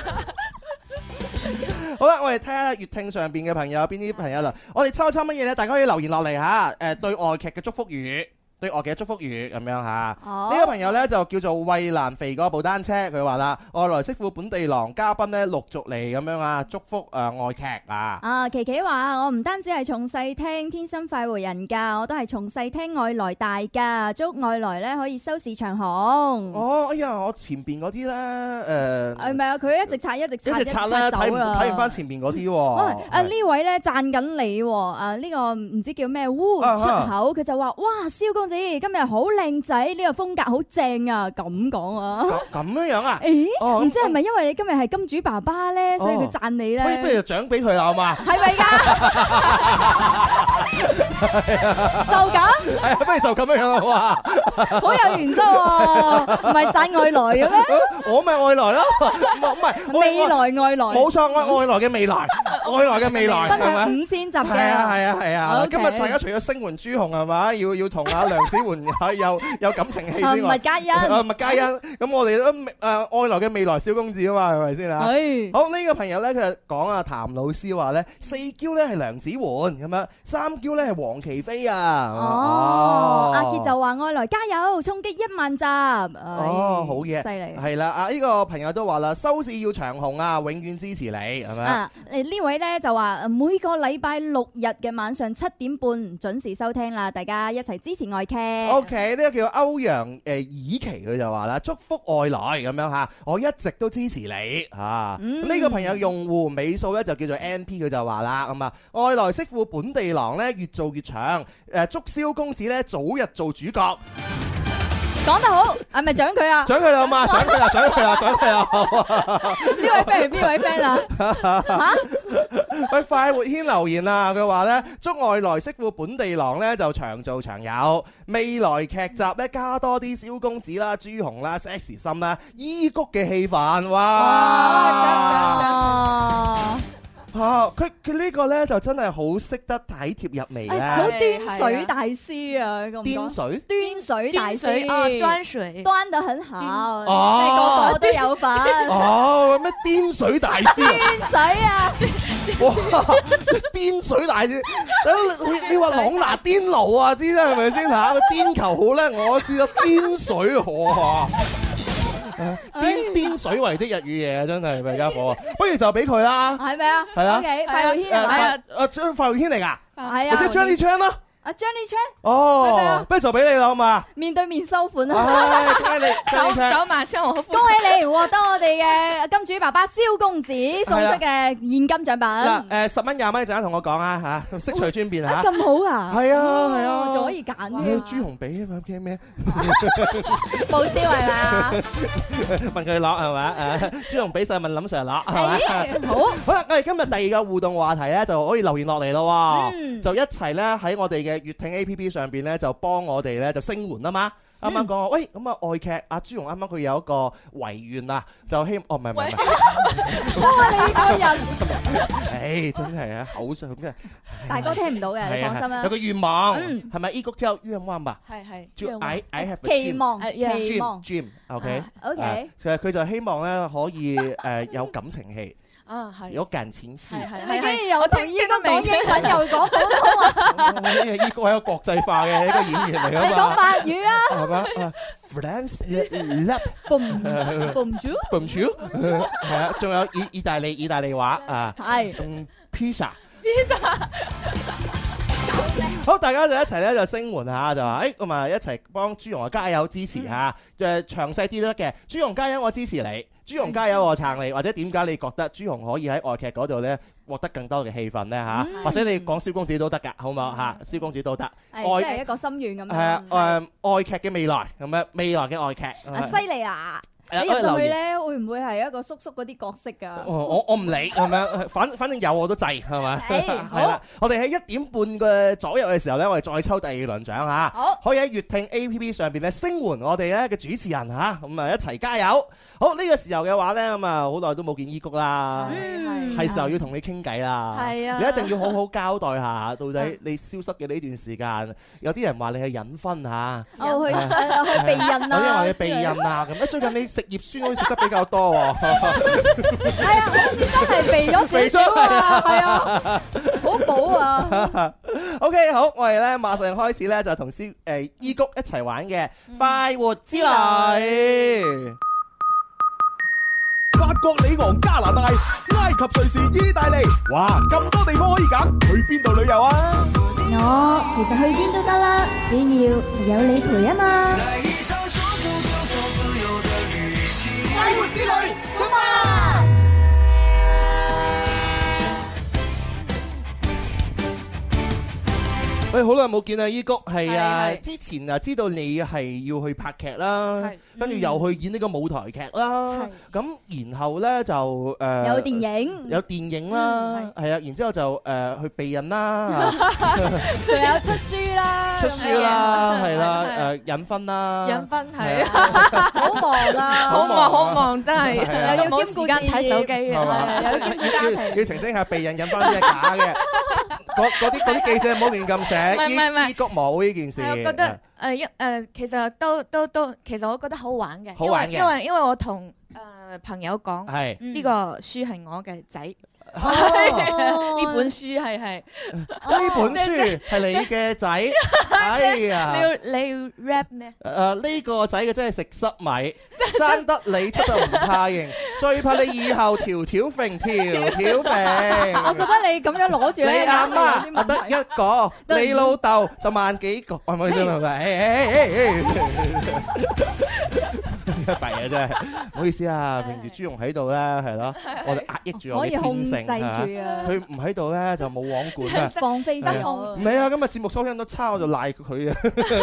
好啦，我哋睇下粵聽上邊嘅朋友有邊啲朋友啦。我哋抽一抽乜嘢咧？大家可以留言落嚟嚇，誒對外劇嘅祝福語。 對我嘅祝福語咁樣嚇。 哦呢個朋友呢，就叫做衛蘭肥嗰部單車，佢話啦，外來媳婦本地郎嘉賓呢，陸續嚟咁樣啊，祝福誒愛劇啊。 啊，琪琪話我唔單止係從細聽《天生快活人》㗎，我都係從細聽外來大㗎，祝外來呢可以收視長紅。 哦，哎呀，我前邊嗰啲咧誒， 係咪啊？佢一直刷一直刷一直刷啦，睇唔走啦睇唔翻前邊嗰啲喎。 喂，啊呢位咧讚緊你喎，啊呢個唔知叫咩烏出口，佢就話：哇，蕭公子今日好靚仔，呢個風格好正啊！咁講啊， 咁樣樣啊？ 誒，唔知係咪因為你今日係金主爸爸咧，所以佢讚你咧？ 不如不如就獎俾佢啦，好嘛？ 係咪㗎？就咁？ 係啊，不如就咁樣樣啦，好嘛？ 好有原則喎，唔係讚外來嘅咩？ 我咪外來咯，唔係未來外來， 冇錯，我外來嘅未來，外來嘅未來， 分係咪？ 享五千集嘅， 係啊係啊係啊！ OK 今日大家除咗聲援朱紅係嘛，要要同阿梁子媛有有感情戲之外， 麥嘉欣， 啊麥嘉欣，咁我哋都誒外來嘅未來小公子啊嘛，係咪先啊？ 係。 好，呢個朋友咧，佢就講啊，譚老師話咧，四嬌咧係梁子媛咁樣，三嬌咧係黃琪飛啊。 哦，阿傑就話外來加油，衝擊一萬集。 哦，好嘢， 犀利。 係啦，啊呢個朋友都話啦，收視要長紅啊，永遠支持你，係咪啊？誒呢位咧就話每個禮拜六日嘅晚上七點半準時收聽啦，大家一齊支持愛劇。 O K， 呢個叫歐陽誒以琪，佢就話啦，祝福外來咁樣嚇，我一直都支持你嚇。呢、 嗯、 個朋友用戶尾數咧就叫做 N P，佢就話啦咁啊，外來媳婦本地郎咧越做越長，誒祝蕭公子咧早日做主角。 講得好，係咪獎佢啊？ 獎佢啦嘛，獎佢啦，獎佢啦，獎佢啦！ 呢位 friend 係邊位 friend 啊？嚇！ 喂，快活軒留言啊，佢話咧祝外來媳婦本地郎咧就長做長有，未來劇集咧加多啲蕭公子啦、朱紅啦、sexy 心啦、伊谷嘅戲份，哇！ 哇嚇，佢佢呢個咧就真係好識得體貼入微咧， 好端水大師啊！咁端水， 端水大師啊，端水， 端得很好，即哦係個個都有份。 哦，咩端水大師啊？ 端水啊！ 哇！顛水大師，你你話朗拿顛奴啊，知啦係咪先嚇？顛球好叻，我知道顛水河啊！顛顛水為的日與夜啊，真係咪家伙啊！不如就俾佢啦， 係咪啊？ 係啊 OK，快樂軒係誒咪啊？ 誒張快樂軒嚟㗎， 係啊， 或者張呢槍啦。 阿 Johnny Chan， 哦，不如就俾你啦，好嘛？ 面對面收款唉啊！ 恭喜你， 走 Johnny Chan 走馬上我恭喜你獲得我哋嘅金主爸爸蕭公子送出嘅現金獎品。 嗱，誒十蚊廿蚊，陣間同我講啊嚇，悉隨尊便嚇。 咁好啊！ 係啊係啊， 仲可以揀嘅。 誒朱紅俾啊嘛，驚咩？ 報銷係咪啊？ 問佢攞係咪？誒朱紅俾曬問林 Sir 攞係咪？ 好， 好啦，我哋今日第二個互動話題咧，就可以留言落嚟咯喎， 嗯就一齊咧喺我哋嘅粵聽 A P P 上邊咧，就幫我哋咧就聲援啊嘛。啱啱講話，喂咁啊愛劇阿朱紅啱啱佢有一個遺願啊，就希哦唔係唔係唔係， 哇你個人， 誒真係啊口上真係， 大哥聽唔到嘅，你放心啦有。個願望嗯係咪？依谷之後願望吧， 係係就 I I have a 期 dream 望， 誒期 dream 望 dream OK 啊，OK 誒其實佢就希望咧可以誒有感情戲， 啊係有感情戲。 係係你竟係然又同依個講英文又講普通話， 因為依谷係一個國際化嘅一個演員嚟你㗎嘛。 講法語啊係嘛啊？France love ，boom boom 豬， boom 超係啊，仲有意意大利意大利話啊， 係嗯 pizza pizza。好，大家就一齊咧就聲援下，就話誒咁啊一齊幫朱紅啊加油支持下，誒詳細啲都得嘅。朱紅加油，我支持你；朱紅加油，我撐你。或者點解你覺得朱紅可以喺外劇嗰度咧獲得更多嘅戲份咧嚇？或者你講蕭公子都得㗎，好唔好嚇？蕭公子都得。 係即係一個心願咁樣。 係啊誒愛劇嘅未來咁樣，未來嘅愛劇。 啊犀利啦！ 係啊你入到去留言咧，會唔會係一個叔叔嗰啲角色㗎？ 我我我唔理係咪？反反正有我都制係咪？ 誒係啦，我哋喺一點半嘅左右嘅時候咧，我哋再抽第二輪獎嚇。 好， 可以喺粵聽 A P P 上邊咧聲援我哋咧嘅主持人嚇，咁啊一齊加油！好呢個時候嘅話咧，咁啊好耐都冇見伊谷啦， 嗯係時候要同你傾偈啦。 係啊你一定要好好交代下，到底你消失嘅呢段時間，有啲人話你係隱婚嚇， 哦去誒去避孕有啲人話啊， 你避孕啊咁。最近你食葉酸好似食得比較多喎。 係啊，好似真係避咗少少啊，係啊，好補啊！ OK， 好，我哋咧馬上開始咧就同師誒伊谷一齊玩嘅快活之旅。 法國里昂、加拿大、埃及、瑞士、意大利，哇，咁多地方可以揀，去邊度旅遊啊？ 我其實去邊都得啦，只要係有你陪啊嘛。 快活之旅，出發！ 喂，好耐冇見啊，伊谷係啊，之前啊知道你係要去拍劇啦，跟住又去演呢個舞台劇啦，咁然後咧就誒有電影， 有電影啦，係啊，然之後就誒去避孕啦， 仲有出書啦， 出書啦，係啦，誒引婚啦， 引婚係啊， 好忙啊， 好忙好忙真係， 又要冇時間睇手機嘅， 有兼顧家庭，要澄清下避孕引婚啲係假嘅。嗰嗰啲嗰啲記者唔好亂咁寫，伊谷冇呢件事。 我覺得誒一誒，其實都都都，其實我覺得好玩嘅， 好玩嘅， 因為因為我同誒朋友講， 係呢個書係我嘅仔，呢本書係係呢本書係你嘅仔，哎呀！ 你要你要 rap 咩？ 誒呢個仔嘅真係食濕米，生得你出就唔怕型，最怕你以後條條揈條條揈。 我覺得你咁樣攞住咧， 你阿媽得一個，你老豆就萬幾個，係咪先係咪？弊啊真係，唔好意思啊，平時朱容喺度咧，係咯，我哋壓抑住我嘅天性啊，佢唔喺度咧就冇網管啊， 放飛失控。 唔係啊，今日節目收聽都差，我就賴佢啊，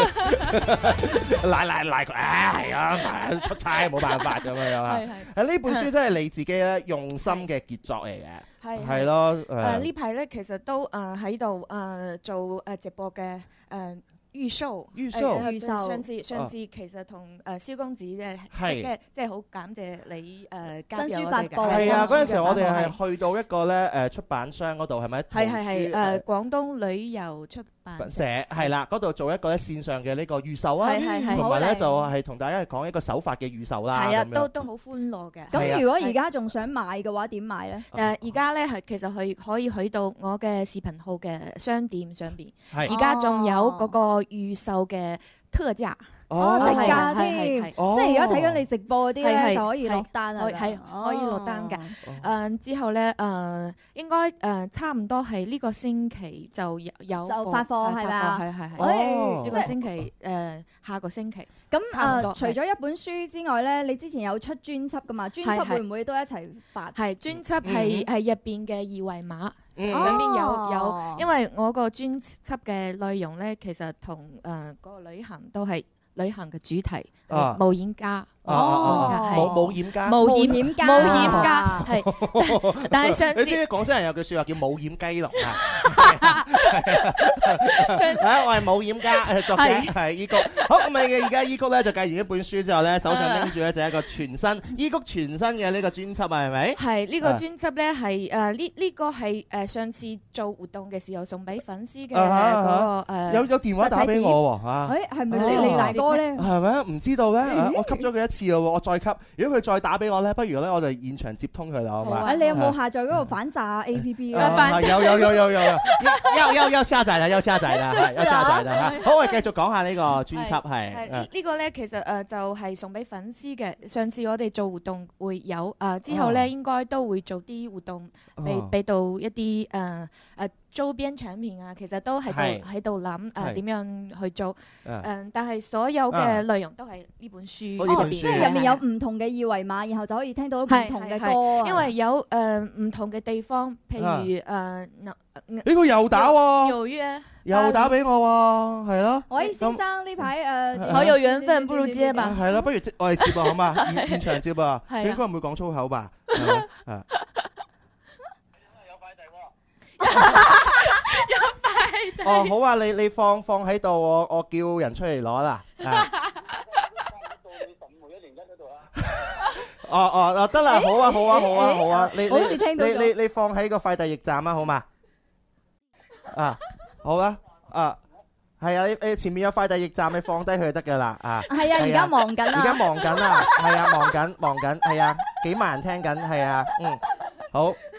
賴賴賴佢，唉係啊，出差冇辦法咁樣樣啊。係呢本書真係你自己咧用心嘅傑作嚟嘅，係係咯。 誒呢排咧其實都誒喺度誒做誒直播嘅誒。預售， 預售， 預售。上次上次其實同誒蕭公子嘅嘅，即係好感謝你誒加入我哋嘅。 係啊，嗰陣時我哋係去到一個咧誒出版商嗰度，係咪？ 係係係誒廣東旅遊出版社係啦，嗰度做一個咧線上嘅呢個預售啊， 係係係， 同埋咧就係同大家講一個手法嘅預售啦。 係啊，都都好歡樂嘅。 咁如果而家仲想買嘅話，點買咧？ 誒而家咧係其實係可以去到我嘅視頻號嘅商店上邊，而家仲有嗰個預售嘅特價。 哦，特價添，即係而家睇緊你直播嗰啲咧就可以落單啊， 係可以落單嘅。誒之後咧誒應該誒差唔多係呢個星期就有有就發貨係嘛？ 係係係。呢個星期誒下個星期。 咁誒除咗一本書之外咧，你之前有出專輯噶嘛？專輯會唔會都一齊發？ 係專輯係係入邊嘅二維碼上邊有有，因為我個專輯嘅內容咧其實同誒嗰個旅行都係。旅行嘅主題，冒險家， 哦，冒冒險家， 冒險家，冒險家，係。但係上次， 你知唔知廣州人有句説話叫冒險雞籠啊？我係冒險家，作者係伊谷。好咁咪而家伊谷咧就介完一本書之後咧，手上拎住咧就係一個全新伊谷全新嘅呢個專輯啊，係咪？ 係呢個專輯咧係誒呢呢個係誒上次做活動嘅時候送俾粉絲嘅嗰個誒。 有有電話打俾我喎嚇。 誒係咪即係你大哥？ 係咪啊？唔知道咧，我吸咗佢一次咯，我再吸。如果佢再打俾我咧，不如咧我哋現場接通佢啦，好嘛？ 你有冇下載嗰個反詐 A P P 啊？有有有有有有，要要要下載啦，要下載啦，要下載啦。好，我哋繼續講下呢個專輯係。 係呢個咧，其實誒就係送俾粉絲嘅。上次我哋做活動會有誒，之後咧應該都會做啲活動，俾俾到一啲誒誒。周邊產品啊，其實都喺度喺度諗誒點樣去做誒，但係所有嘅內容都係呢本書入邊， 即係入面有唔同嘅二維碼，然後就可以聽到唔同嘅歌。 因為有誒唔同嘅地方，譬如誒， 呢個又打喎， 紐約又打俾我喎，係咯。 喂，先生呢排誒好有緣分，不如接吧。 係咯，不如我哋接啊，好嘛？現現場接啊，應該唔會講粗口吧？啊！ 有快遞哦，好啊，你你放放喺度，我我叫人出嚟攞啦。哦哦哦，得啦，好啊好啊好啊好啊，你你你你放喺個快遞驛站啊，好嘛？啊，好啊，啊，係啊，你你前面有快遞驛站，你放低佢就得噶啦。啊， 係啊，而家忙緊啊， 而家忙緊啊，係啊，忙緊忙緊，係啊，幾萬人聽緊，係啊，嗯，好。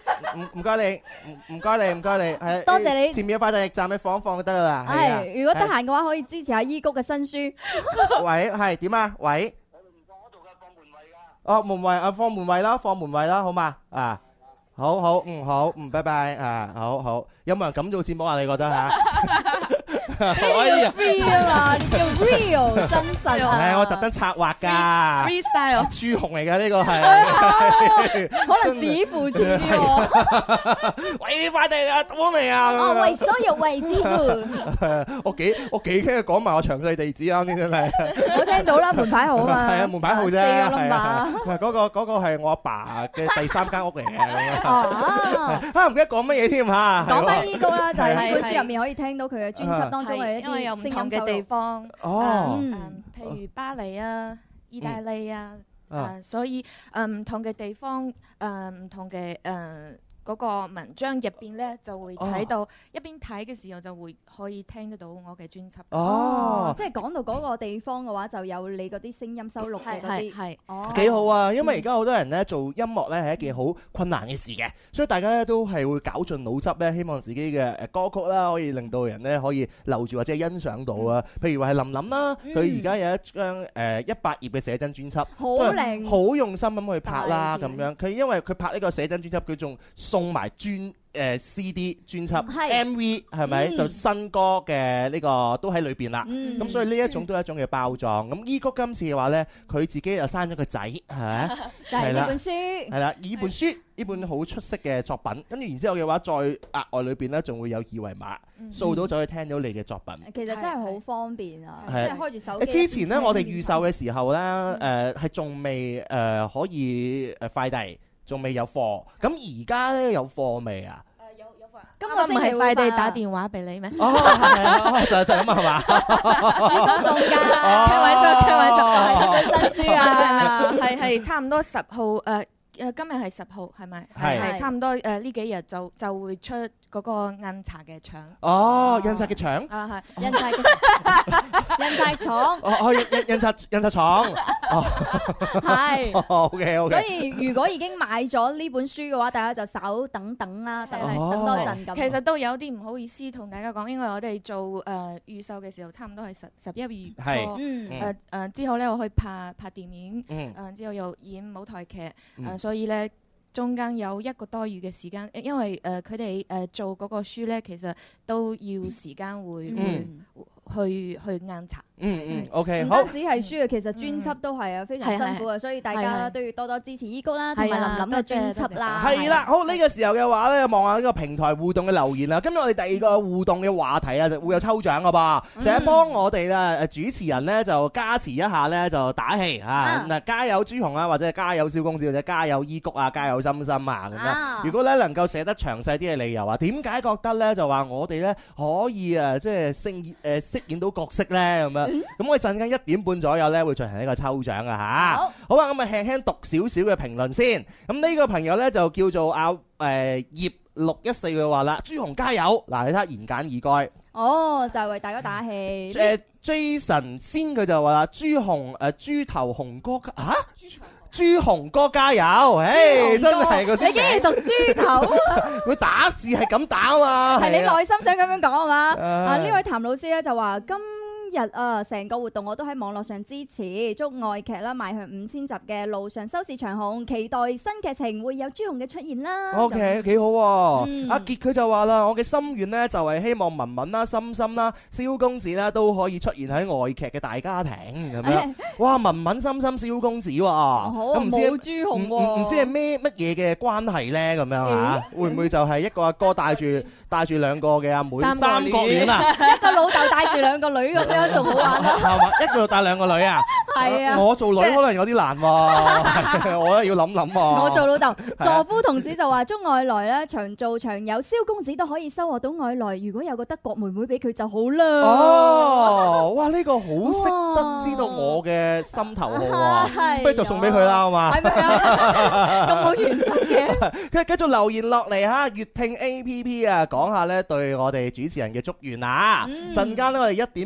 唔唔該你，唔唔該你，唔該你，係多謝你。 前面嘅快遞驛站你放一放就得噶啦。 係，如果得閒嘅話，可以支持下伊谷嘅新書。 喂，係點啊？喂，我哋唔放嗰度嘅，放門衛噶。哦，門衛啊，放門衛啦，放門衛啦，好嘛？啊，好好，嗯好，嗯，拜拜啊，好好。有冇人咁做節目啊？你覺得嚇？ 呢啲 free 啊嘛，呢叫 real 真實啊！ 係我特登策劃㗎 ，freestyle 朱紅嚟㗎呢個係， 可能似乎似啲喎。 喂，快遞啊，到咗未啊？ 哦，為所欲為之乎。 我幾我幾驚佢講埋我詳細地址啱先真係。我聽到啦，門牌號啊嘛。 係啊，門牌號啫。 四個 number。 唔係嗰個嗰個係我阿爸嘅第三間屋嚟嘅。 哦。 啊唔記得講乜嘢添嚇。 講翻伊谷啦，就係呢本書入面可以聽到佢嘅專輯當中嘅一因為有啲唔同嘅地方， 哦， 嗯，譬如巴黎啊、意大利啊，誒，所以誒唔同嘅地方，誒唔同嘅誒嗰個文章入邊咧，就會睇到一邊睇嘅時候就會可以聽得到我嘅專輯。 哦， 即係講到嗰個地方嘅話，就有你嗰啲聲音收錄嘅嗰啲， 係哦， 幾好啊！因為而家好多人咧做音樂咧係一件好困難嘅事嘅，所以大家咧都係會絞盡腦汁咧，希望自己嘅誒歌曲啦可以令到人咧可以留住或者係欣賞到啊。譬如話係林琳啦，佢而家有一張誒一百頁嘅寫真專輯， 好靚， 好用心咁去拍啦咁樣。佢因為佢拍呢個寫真專輯，佢仲送埋專誒 C D 專輯 M V 係咪就新歌嘅呢個都喺裏邊啦。咁所以呢一種都係一種嘅包裝。咁伊谷今次嘅話咧，佢自己又生咗個仔，係咪？ 就係呢本書。 係啦，呢本書呢本好出色嘅作品，跟住然之後嘅話，再額外裏邊咧仲會有二維碼，掃到就可以聽到你嘅作品。 其實真係好方便啊！即係開住手機。 之前咧，我哋預售嘅時候咧，誒係仲未誒可以誒快遞。仲未有貨，咁而家咧有貨未啊？ 誒有有貨。 今個星期唔係快遞打電話俾你咩？ 哦，係啊，就就咁啊，係嘛？ 呢個送㗎， 開玩笑，開玩笑， 係呢本新書啊， 係係差唔多十號誒。誒今日係十號係咪？係係差唔多誒呢幾日就就會出嗰個印刷嘅廠。 哦，印刷嘅廠。 啊係，印刷嘅印刷廠。 哦哦，印印印刷印刷廠。哦， 係。 OK OK。 所以如果已經買咗呢本書嘅話，大家就稍等等啦，等等多陣咁。 其實都有啲唔好意思同大家講，因為我哋做誒預售嘅時候，差唔多係十十一月初。誒誒之後咧，我去拍拍電影，誒之後又演舞台劇，誒。所以咧，中間有一個多月嘅時間，因為誒佢哋誒做嗰個書咧，其實都要時間會、嗯、會去去硬查。 嗯嗯 ，OK， 唔單止係書啊，其實專輯都係啊，非常辛苦啊，所以大家都要多多支持伊谷啦，同埋林琳嘅專輯啦。 係啦，好呢個時候嘅話咧，望下呢個平台互動嘅留言啦。今日我哋第二個互動嘅話題啊，就會有抽獎噶噃，就係幫我哋啦主持人咧就加持一下咧，就打氣啊！嗱，加油朱紅啊，或者加油蕭公子，或者加油伊谷啊，加油心心啊咁樣。如果咧能夠寫得詳細啲嘅理由啊，點解覺得咧就話我哋咧可以啊，即係飾演誒飾演到角色咧咁樣？咁我哋陣間一點半左右咧會進行呢個抽獎啊嚇！好，好啊，咁啊輕輕讀少少嘅評論先。咁呢個朋友咧就叫做阿誒葉六一四嘅話啦，朱紅加油！嗱，你睇下言簡意賅。 哦，就係為大家打氣。 誒 Jason 先佢就話啦，朱紅誒豬頭紅哥嚇，朱紅哥加油！誒，真係嗰啲你竟然讀豬頭， 佢打字係咁打啊嘛， 係你內心想咁樣講啊嘛？啊呢位譚老師咧就話今日啊，成個活動我都喺網絡上支持，祝外劇啦邁向五千集嘅路上收視長紅，期待新劇情會有朱紅嘅出現啦。 OK， 幾好喎！阿傑佢就話啦，我嘅心願呢就係希望文文啦、心心啦、蕭公子啦都可以出現喺外劇嘅大家庭咁樣。哇，文文、心心、蕭公子喎，咁唔知冇朱紅喎， 唔知係咩乜嘢嘅關係呢？咁樣嚇，會唔會就係一個阿哥帶住帶住兩個嘅阿妹三角戀啊？ 一個老豆帶住兩個女咁樣。仲好玩啦， 係嘛？一個帶兩個女啊， 係啊， 我做女可能有啲難喎，我咧要諗諗喎。 我做老豆，助夫同志就話祝外來咧長做長有，蕭公子都可以收穫到外來。如果有個德國妹妹俾佢就好啦。 哦，哇！呢個好識得知道我嘅心頭好喎，不如就送俾佢啦，好嘛？ 係咪啊？咁冇原則嘅。 佢繼續留言落嚟嚇，粵聽 A P P 啊，講下咧對我哋主持人嘅祝願啊。陣間咧我哋一點半左右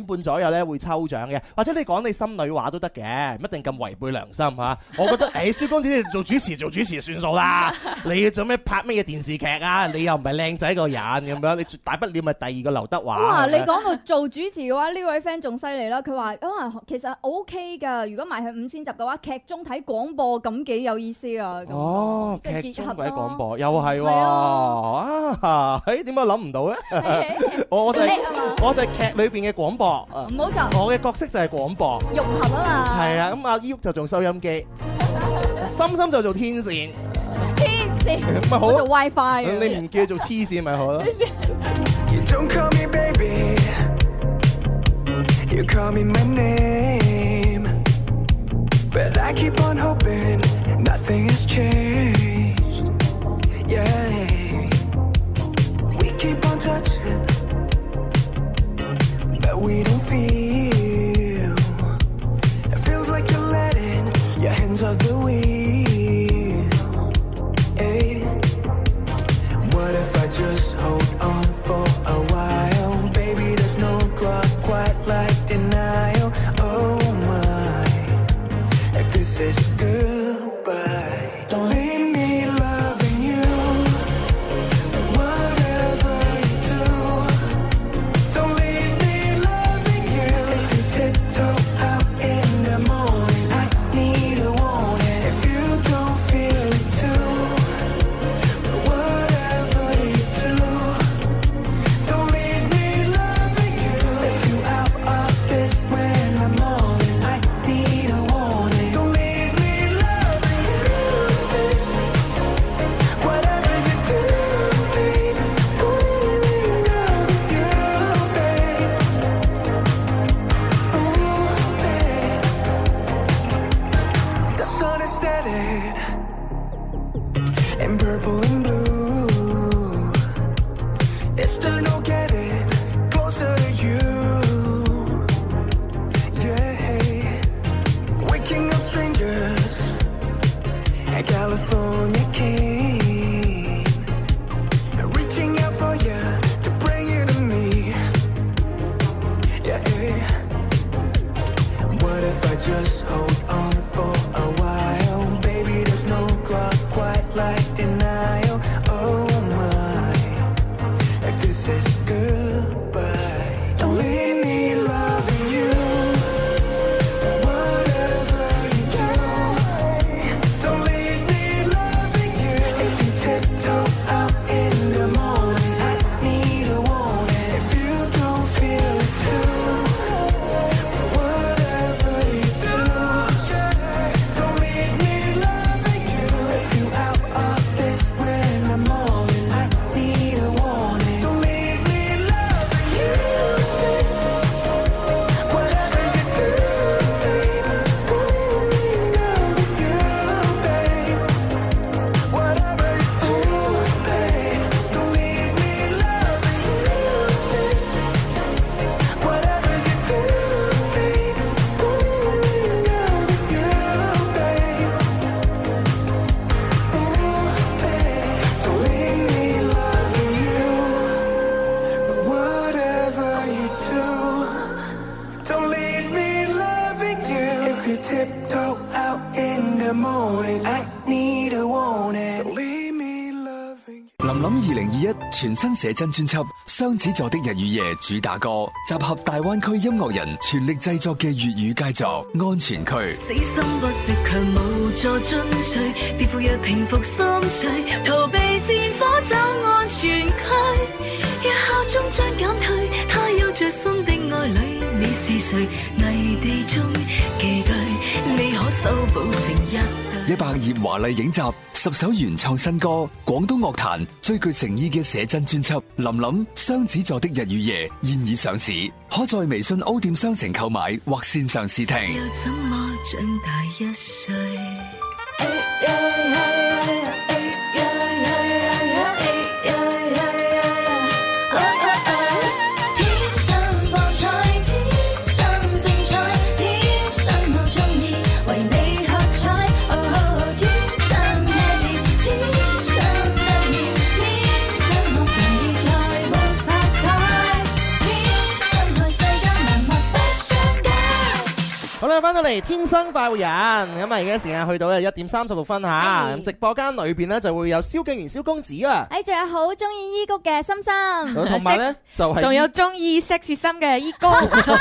日咧會抽獎嘅，或者你講你心裏話都得嘅，唔一定咁違背良心嚇。我覺得誒，蕭公子你做主持做主持算數啦，你做咩拍咩嘢電視劇啊？你又唔係靚仔個人咁樣，你大不了咪第二個劉德華。 哇！你講到做主持嘅話，呢位 friend 仲犀利啦，佢話哇其實 O K 㗎，如果賣去五千集嘅話，劇中睇廣播咁幾有意思啊！ 哦， 即係劇中結合睇廣播又係喎啊！誒點解諗唔到咧？我我就係我就係劇裏邊嘅廣播， 唔好就我嘅角色就係廣播融合啊嘛。 係啊，咁阿依屋就做收音機，心心就做天線， 天線咪好我做 WiFi 嘅。 你唔叫做黐線咪好咯。 You don't call me baby, you call me my name, but I keep on hoping nothing has changed. Yeah, we keep on touching, but we don't feel. It feels like you're letting your hands off the wheel. Hey, what if I just hold on for a while? Baby, there's no drug quite like denial. Oh my, if this is goodbye, don't leave me loving you. Whatever you do, don't leave me loving you. If you tiptoe out in the morning, I need a warning. If you don't feel it too, whatever you do, don't leave me loving you. If you out of this when I'm morning, I need a warning. Don't leave me loving you. Whatever you do, baby, don't leave me loving you, babe. Ooh, babe. The sun is setting in purple and blue. It's still no getting closer to you. Yeah, waking up strangers at California King, reaching out for you to bring you to me. Yeah, what if I just hold on for a while? Baby, there's no drug quite like denial. Oh my, if this is goodbye, don't leave me loving you. Whatever you do, don't leave me loving you. If you tiptoe out in the morning, I need a warning. If you don't feel it too, whatever you do, don't leave me loving you. If you out of this when I'm morning, I need a warning. Don't leave me loving you. Whatever you do, baby, don't leave me loving you, babe. Whatever you do, babe, don't leave me loving you, babe. Whatever you do, baby, don't leave me loving you, babe. Ooh, babe, don't leave me loving you. Whatever you do, don't leave me loving you. If you tiptoe out in the morning, I need a warning. Don't leave me loving you. 林林二零二一全新寫真專輯《雙子座的日與夜》主打歌，集合大灣區音樂人全力製作嘅粵語佳作《安全區》。 死心不息，強無助進取，別負若平復心緒，逃避戰火走安全區。若效忠將減退，他有着新的愛侶，你是誰？泥地中寄居，未可修補成一對。 一百頁華麗影集，十首原創新歌，廣東樂壇最具誠意嘅寫真專輯《林林雙子座的日與夜》現已上市，可在微信 O 店商城購買或線上試聽。 又怎麼長大一歲？ 天生來世間萬物不翻到嚟天生快活人，咁啊而家時間去到咧一點三十六分嚇，咁直播間裏邊咧就會有蕭敬元蕭公子啊， 誒仲有好中意依谷嘅心心， 同埋咧就係仲有中意 sexy 心嘅依谷，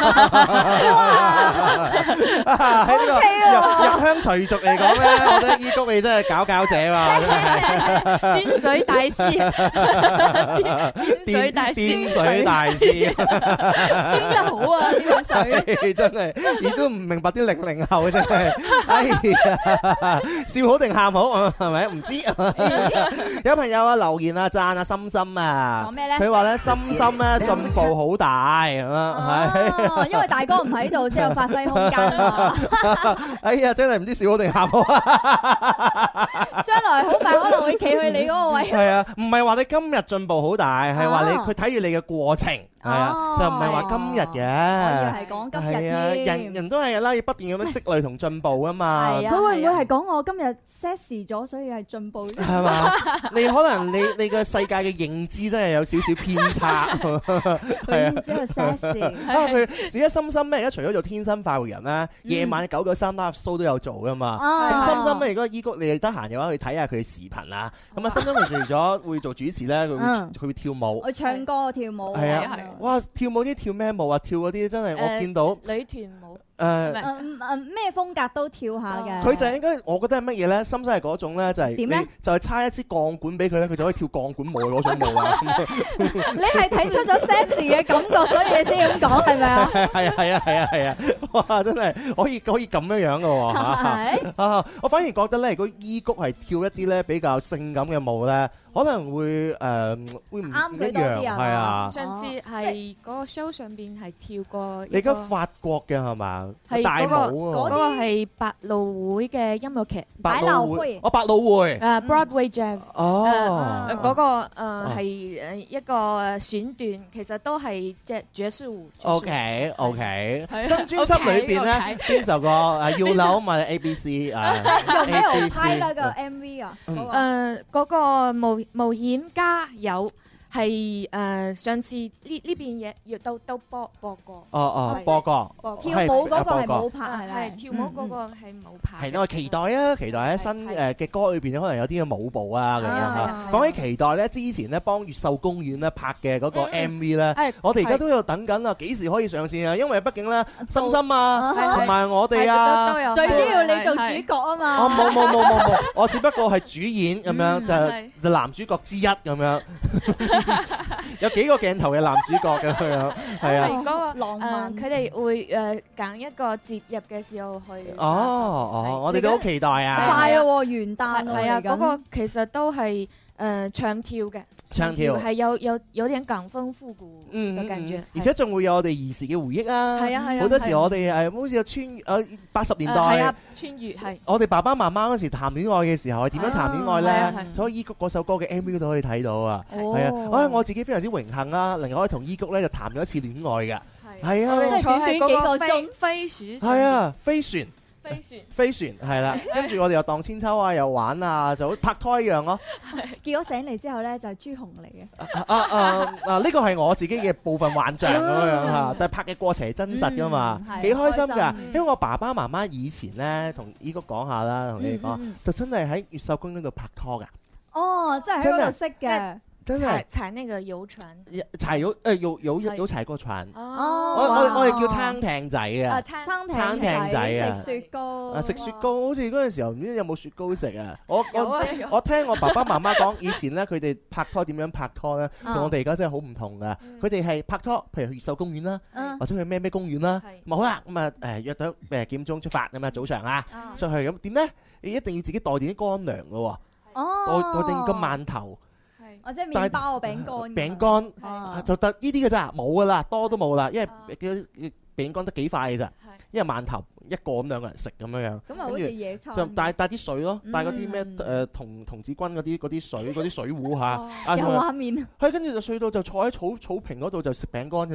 喺呢個入入鄉隨俗嚟講咧，我覺得依谷你真係搞搞者喎， 端水大師，端水大師， 端水大師， 端得好啊呢個水， 真係你都唔明白啲零零後真係，哎呀，笑好定喊好係咪？唔知有朋友啊留言啊讚啊心心啊， 講咩咧？ 佢話咧心心咧進步好大咁樣， 係因為大哥唔喺度先有發揮空間啊！ 哎呀，真係唔知笑好定喊好啊！ 將來好快可能會企去你嗰個位。 係啊，唔係話你今日進步好大，係話你佢睇住你嘅過程。係啊，就唔係話今日嘅， 我以為係講今日添。 係啊，人人都係啦，要不斷咁樣積累同進步啊嘛。 係啊，佢會唔會係講我今日 sexy 咗，所以係進步？ 係嘛？你可能你你個世界嘅認知真係有少少偏差。 佢唔知佢 sexy。 啊，佢自己心心咩？而家除咗做天生快活人咧，夜晚九九三 live show 都有做噶嘛。咁心心咧，如果依谷你哋得閒嘅話，去睇下佢嘅視頻啊。咁啊，心心佢除咗會做主持咧，佢會佢會跳舞。 我唱歌跳舞。 係啊。哇！跳舞啲跳咩舞啊？跳嗰啲真係我見到女團舞。 誒誒咩風格都跳下嘅。 佢就應該，我覺得係乜嘢咧？心心係嗰種咧，就係點咧？就係差一支鋼管俾佢咧，佢就可以跳鋼管舞嗰種舞啊！ 你係睇出咗 sexy 嘅感覺，所以你先咁講係咪啊？ 係啊係啊係啊係啊！哇！真係可以可以咁樣樣嘅喎嚇啊！我反而覺得咧，如果依谷係跳一啲咧比較性感嘅舞咧，可能會誒會唔唔一樣係啊！ 上次係嗰個 show 上邊係跳過。 你而家法國嘅係嘛？ 係大舞嗰個係百老匯嘅音樂劇。 百老匯，哦，百老匯。 誒 Broadway Jazz。 哦。 嗰個誒係誒一個選段，其實都係隻爵士舞。 OK OK。新專輯裏邊咧，邊首歌誒要扭咪 A B C 啊 ？A B C。拍啦個 M V 啊。 誒嗰個冒冒險家有。係誒上次呢呢邊嘢亦都都播播過。 哦哦，播過。 跳舞嗰個係冇拍係咪？ 係跳舞嗰個係冇拍。 係，我期待啊！期待喺新誒嘅歌裏邊可能有啲嘅舞步啊咁樣嚇。講起期待咧，之前咧幫越秀公園咧拍嘅嗰個 M V 咧，我哋而家都有等緊啊！幾時可以上線啊？因為畢竟咧，心心啊，同埋我哋啊， 最主要你做主角啊嘛。 哦，冇冇冇冇冇，我只不過係主演咁樣，就就男主角之一咁樣。有幾個鏡頭嘅男主角咁樣，係啊。 嗰個浪漫，佢哋會誒揀一個節日嘅時候去。 哦哦，我哋都好期待啊！ 快咯，元旦係啊，嗰個其實都係誒唱跳嘅。 唱跳係有有有點港風復古嘅感覺， 而且仲會有我哋兒時嘅回憶啊！ 係啊係啊， 好多時我哋誒好似有穿誒八十年代， 係啊穿越係。 我哋爸爸媽媽嗰時談戀愛嘅時候係點樣談戀愛咧？所以依谷嗰首歌嘅 M V 都可以睇到啊！係啊，我我自己非常之榮幸啊，能夠可以同依谷咧就談咗一次戀愛嘅，係啊， 即係短短幾個鐘飛鼠， 係啊，飛船。 飛船， 飛船係啦，跟住我哋又盪千秋啊，又玩啊，就好拍拖一樣咯。 結果醒嚟之後咧，就係朱紅嚟嘅。 啊啊啊！呢個係我自己嘅部分幻象咁樣嚇，但係拍嘅過程係真實噶嘛，幾開心㗎。因為我爸爸媽媽以前咧，同依谷講下啦，同你哋講，就真係喺越秀公園度拍拖㗎。 哦，真係喺嗰度識嘅。 真係踩那個遊船， 踩有誒有有有踩過船。 哦， 我我我哋叫撐艇仔啊， 撐撐艇仔啊， 食雪糕啊食雪糕，好似嗰陣時候唔知有冇雪糕食啊？我我我聽我爸爸媽媽講，以前咧佢哋拍拖點樣拍拖咧，同我哋而家真係好唔同噶。佢哋係拍拖，譬如去越秀公園啦，或者去咩咩公園啦，咁好啦，咁啊誒約到誒幾點鐘出發咁啊早上啊出去咁點咧？你一定要自己帶定啲乾糧噶喎，帶帶定個饅頭。 或者麵包啊、餅乾， 餅乾就得呢啲嘅咋，冇噶啦，多都冇啦，因為嘅餅乾得幾塊嘅咋，因為饅頭一個咁兩個人食咁樣樣， 咁啊好似野餐， 就帶帶啲水咯，帶嗰啲咩誒童童子軍嗰啲嗰啲水嗰啲水壺嚇， 有畫面。 係跟住就睡到就坐喺草草坪嗰度就食餅乾嘅咋，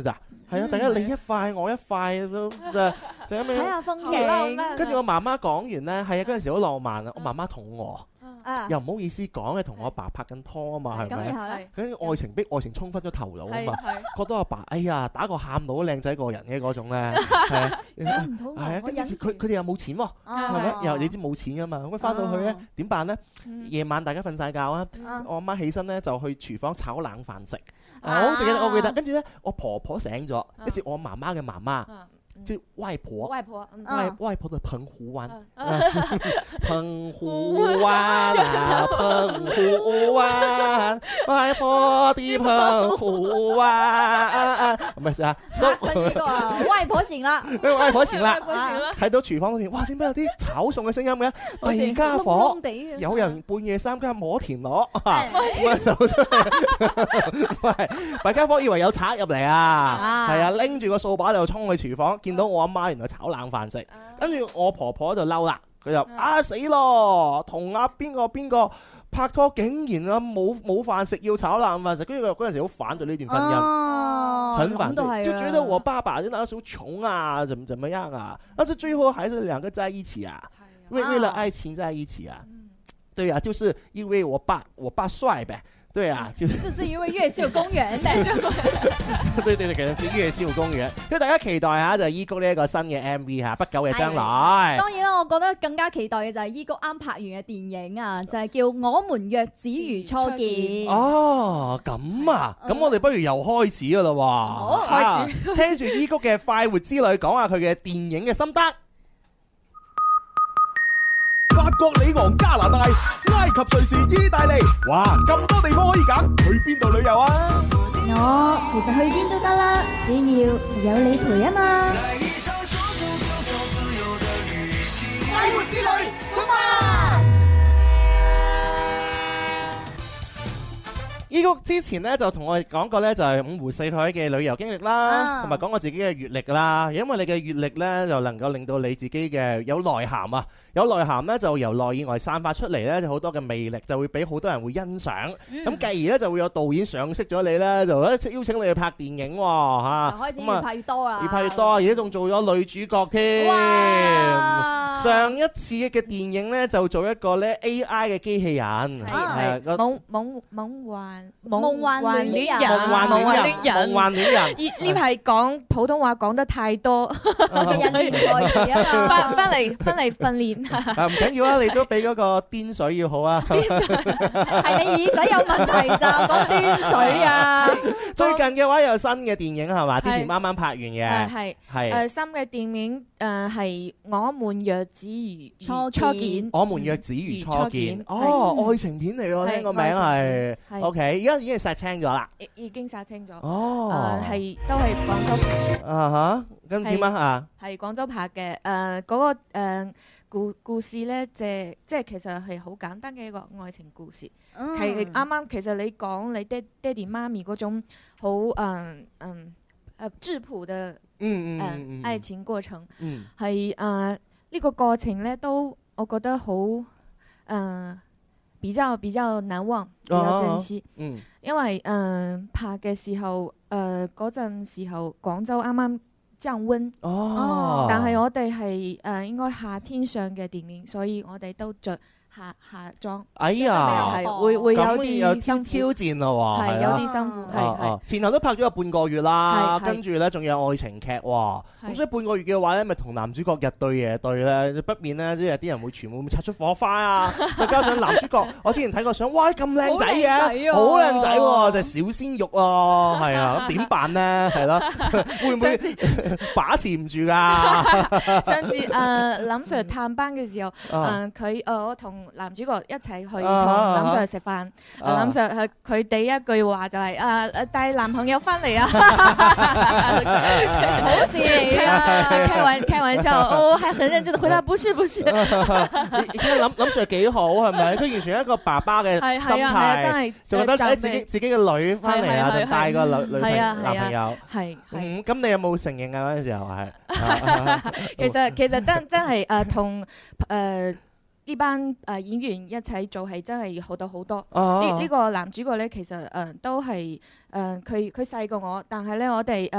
係啊，大家你一塊我一塊都就就咁樣睇下風景。 跟住我媽媽講完咧，係啊，嗰陣時好浪漫啊！我媽媽肚餓。又唔好意思講嘅，同我阿爸拍緊拖啊嘛，係咪？佢愛情逼愛情衝昏咗頭腦啊嘛，覺得阿爸哎呀打個喊路都靚仔過人嘅嗰種咧，係啊，係啊，跟住佢佢哋又冇錢喎，係咪？又你知冇錢噶嘛，咁翻到去咧點辦咧？夜晚大家瞓晒覺啊，我阿媽起身咧就去廚房炒冷飯食，我好記得我記得，跟住咧我婆婆醒咗，跟住我媽媽嘅媽媽。就外婆， 外婆， 外外婆的澎湖灣，澎湖灣啊，澎湖灣，外婆的澎湖灣，唔係啊， 呢個外婆醒啦， 外婆醒啦，睇到廚房嗰邊，哇，點解有啲炒餸嘅聲音嘅？第二家伙，有人半夜三更摸田螺，咁啊走出嚟，喂，大家伙以為有賊入嚟啊，係啊，拎住個掃把就衝去廚房。見到我阿媽原來炒冷飯食，跟住我婆婆就嬲啦，佢就啊死咯，同阿邊個邊個拍拖竟然啊冇冇飯食要炒冷飯食，跟住佢嗰陣時好反對呢段婚姻，很反對，就覺得我爸爸真係好窮啊，怎麼怎麼樣啊，但是最後還是兩個在一起啊，為為了愛情在一起啊，對啊，就是因為我爸我爸帥唄。對啊，就就是因為越秀公園，但是對對對，其實係越秀公園，所以大家期待下就係伊谷呢一個新嘅 M V 嚇，不久嘅將來。 當然啦，我覺得更加期待嘅就係伊谷啱拍完嘅電影啊，就係叫《我們若只如初見》。 哦，咁啊，咁我哋不如又開始噶啦喎， 好，開始聽住伊谷嘅快活之旅，講下佢嘅電影嘅心得。 法國里昂、加拿大、埃及、瑞士、意大利，哇！咁多地方可以揀，去邊度旅遊啊？ 我其實去邊都得啦，只要有你陪啊嘛！ 快活之旅，出發！ 伊谷之前咧就同我哋講過咧，就係五湖四海嘅旅遊經歷啦，同埋講過自己嘅閲歷啦。因為你嘅閲歷咧，就能夠令到你自己嘅有內涵啊！有內涵咧，就由內以外散發出嚟咧，就好多嘅魅力，就會俾好多人會欣賞。咁繼而咧，就會有導演賞識咗你咧，就邀請你去拍電影喎嚇。 開始越拍越多啦， 越拍越多，而家仲做咗女主角添。上一次嘅電影咧，就做一個咧 A I 嘅機器人， 係夢夢夢幻夢幻戀人， 夢幻戀人，夢幻戀人。 呢排講普通話講得太多， 人言在時啊嘛， 翻翻嚟翻嚟訓練。 唔緊要啊，你都比嗰個癲水要好啊。 係你耳仔有問題咋？講癲水啊！ 最近嘅話有新嘅電影係嘛？之前啱啱拍完嘅， 係係誒新嘅電影誒係我們若只如初初見， 我們若只如初見。哦，愛情片嚟喎，聽個名係。OK，而家已經係殺青咗啦。 已已經殺青咗。 哦， 誒係都係廣州。 啊哈，咁點啊啊？ 係廣州拍嘅誒嗰個誒。故故事咧，即係即係其實係好簡單嘅一個愛情故事。係啱啱其實你講你爹爹哋媽咪嗰種好誒誒誒質樸嘅誒愛情過程，係誒呢個過程咧都我覺得好誒、呃、比較比較難忘，比較珍惜。啊嗯、因為誒、呃、拍嘅時候誒嗰陣時候廣州啱啱降溫， 哦， 但係我哋係誒應該夏天上嘅電影，所以我哋都着夏夏裝。 哎呀， 係會會有啲新挑戰咯喎， 係有啲辛苦，係係前頭都拍咗有半個月啦，跟住咧仲有愛情劇喎，咁所以半個月嘅話咧，咪同男主角日對夜對咧，不免咧即係啲人會全部會擦出火花啊！再加上男主角，我之前睇過相，哇咁靚仔嘅，好靚仔喎，就係小鮮肉咯，係啊，咁點辦咧？係咯，會唔會把持唔住㗎？ 上次誒林 Sir 探班嘅時候，誒佢誒我同男主角一齊去同林 Sir 食飯，林 Sir 係佢第一句話就係誒誒帶男朋友翻嚟啊，好事嚟啊！開玩開玩笑，我還很認真地回答，不是不是。 你睇林林 Sir 幾好係咪？佢完全係一個爸爸嘅心態，仲覺得誒自己自己嘅女翻嚟啊，就帶個女女朋友男朋友。係係。咁你有冇承認啊？嗰陣時候係。 其實其實真真係誒同誒。呢班誒演員一齊做係真係學到好多。呢呢個男主角咧，其實誒都係誒佢佢細過我，但係咧我哋誒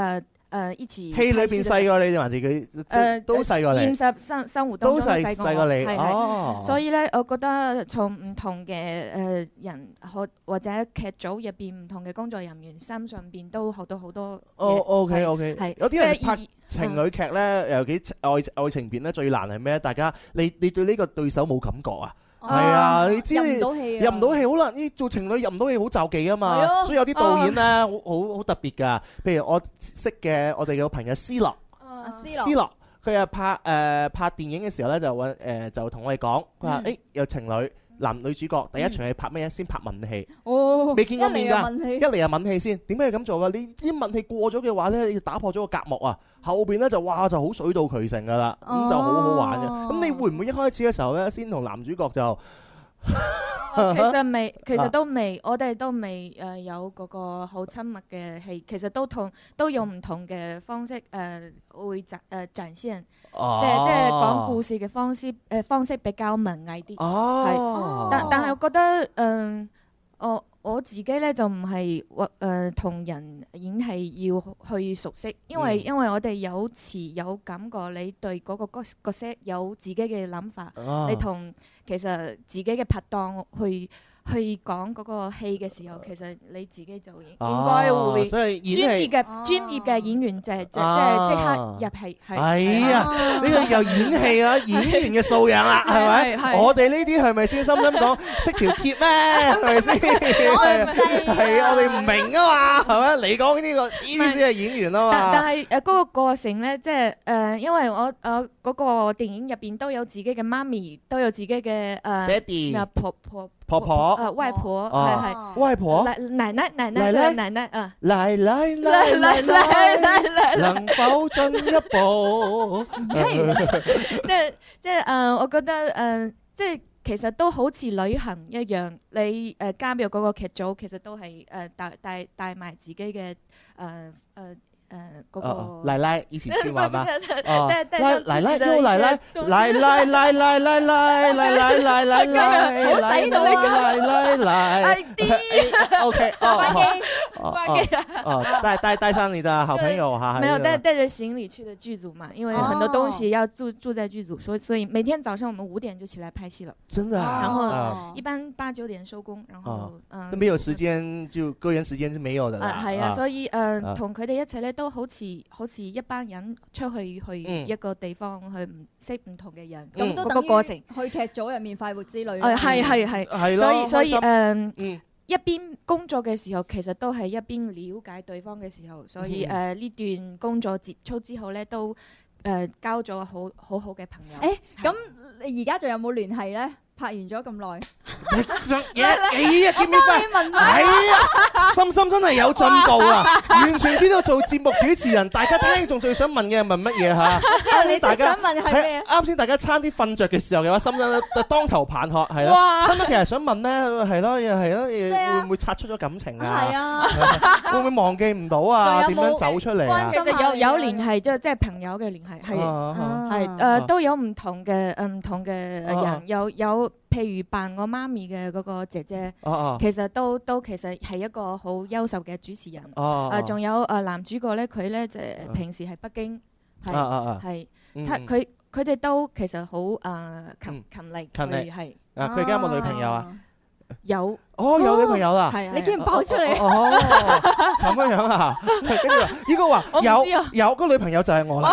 誒一起戲裏邊細過你定還是佢誒都細過你？ 現實生生活當中都細細過你， 係所以咧，我覺得從唔同嘅誒人或或者劇組入邊唔同嘅工作人員身上邊都學到好多。 哦，OK OK， 係有啲人拍情侶劇咧，尤其愛愛情片咧，最難係咩？大家你你對呢個對手冇感覺啊？係啊，你知入唔到戲，入唔到戲好難。呢做情侶入唔到戲好就忌啊嘛，所以有啲導演咧，好好好特別㗎。譬如我識嘅我哋嘅朋友思樂，思樂佢係拍誒拍電影嘅時候咧，就揾誒就同我哋講，佢話誒有情侶男女主角第一場係拍咩嘢？先拍吻戲，未見過面㗎，一嚟就吻戲先。點解要咁做㗎？你啲吻戲過咗嘅話咧，要打破咗個隔膜啊，後邊咧就哇就好水到渠成㗎啦，咁就好好玩嘅。咁你會唔會一開始嘅時候咧，先同男主角就？ 其實未，其實都未，我哋都未誒有嗰個好親密嘅戲，其實都同都用唔同嘅方式誒會展誒展現，即係即係講故事嘅方式誒方式比較文藝啲，係，但但係我覺得嗯我。我自己咧就唔係誒同人演戲要去熟悉，因為、嗯、因為我哋有詞有感覺，你對嗰個角角色有自己嘅諗法，啊、你同其實自己嘅拍檔去去講嗰個戲嘅時候，其實你自己就應該會專業嘅專業嘅演員就係即即即刻入戲。係啊，呢個又演戲啊，演員嘅素養啦，係咪？我哋呢啲係咪先深深講識條橋咩？係咪先？係啊，我哋唔明啊嘛，係咪？你講呢個呢啲先係演員啊嘛。 但但係誒嗰個過程咧，即係誒，因為我誒嗰個電影入邊都有自己嘅媽咪，都有自己嘅誒爹哋、 婆婆。 婆婆， 誒外婆係係外婆， 奶奶奶奶奶奶奶啊， 奶奶奶奶奶奶，能否進一步？ 即係即係誒，我覺得誒，即係其實都好似旅行一樣，你誒加入嗰個劇組，其實都係誒帶帶帶埋自己嘅誒誒。誒，嗰個奶奶以前去玩嗎？ 哦， 奶奶又奶奶，奶奶奶奶奶奶奶奶奶奶奶， 好使到呢個奶奶奶。O K， 關機，關機啊！ 哦，帶帶帶上你的好朋友哈。 沒有帶帶着行李去的劇組嘛，因為很多東西要住住在劇組，所以所以每天早上我們五點就起來拍戲了。 真的啊？ 然後一般八九點收工，然後嗯，都沒有時間，就個人時間是沒有的。 啊，係啊，所以誒，同佢哋一齊咧。都好似好似一班人出去去一個地方、嗯、去唔識唔同嘅人，咁、嗯、都等於過程去劇組入面快活之旅。 誒係係係， 係所以所以誒、呃嗯、 一邊工作嘅時候，其實都係一邊了解對方嘅時候，所以誒呢、呃、段工作接觸之後咧，都誒、呃、交咗好好好嘅朋友。 誒咁你而家仲有冇聯繫咧？拍完咗咁耐， 嘢哎呀，見面快，係啊，心心真係有進步啊！完全知道做節目主持人，大家聽眾最想問嘅係問乜嘢嚇？ 你大家想問係咩？ 啱先大家差啲瞓着嘅時候嘅話，心心就當頭棒喝，係咯。心心其實想問咧，係咯，又係咯，會唔會擦出咗感情啊？ 係啊， 會唔會忘記唔到啊？點樣走出嚟啊？ 其實有有聯繫，即係即係朋友嘅聯繫，係係誒都有唔同嘅誒唔同嘅人，有有。譬如扮我媽咪嘅嗰個姐姐， 啊啊、 其實都都其實係一個好優秀嘅主持人。誒仲、啊啊、有誒、呃、男主角咧，佢咧就平時喺北京，係係，佢佢哋都其實好誒勤勤力， 勤力係。 啊，佢而家有冇女朋友啊？ 有。 哦，有女朋友啦！ 係你竟然爆出嚟？ 哦，咁樣樣啊！跟住話，依個話有有個女朋友就係我啦！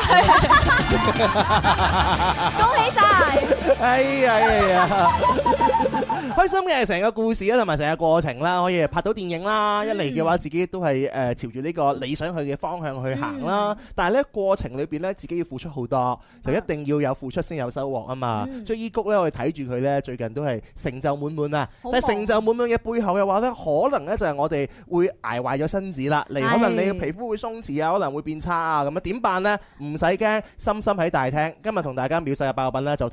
恭喜晒！ 哎呀哎呀！開心嘅係成個故事啦，同埋成個過程啦，可以拍到電影啦。一嚟嘅話，自己都係誒朝住呢個理想去嘅方向去行啦。但係咧過程裏邊咧，自己要付出好多，就一定要有付出先有收穫啊嘛。所以依谷咧，我哋睇住佢咧，最近都係成就滿滿啊！但係成就滿滿嘅背後嘅話咧，可能咧就係我哋會捱壞咗身子啦，嚟可能你嘅皮膚會鬆弛啊，可能會變差啊，咁啊點辦呢？唔使驚，心心喺大廳，今日同大家秒殺嘅爆品咧就同胡夫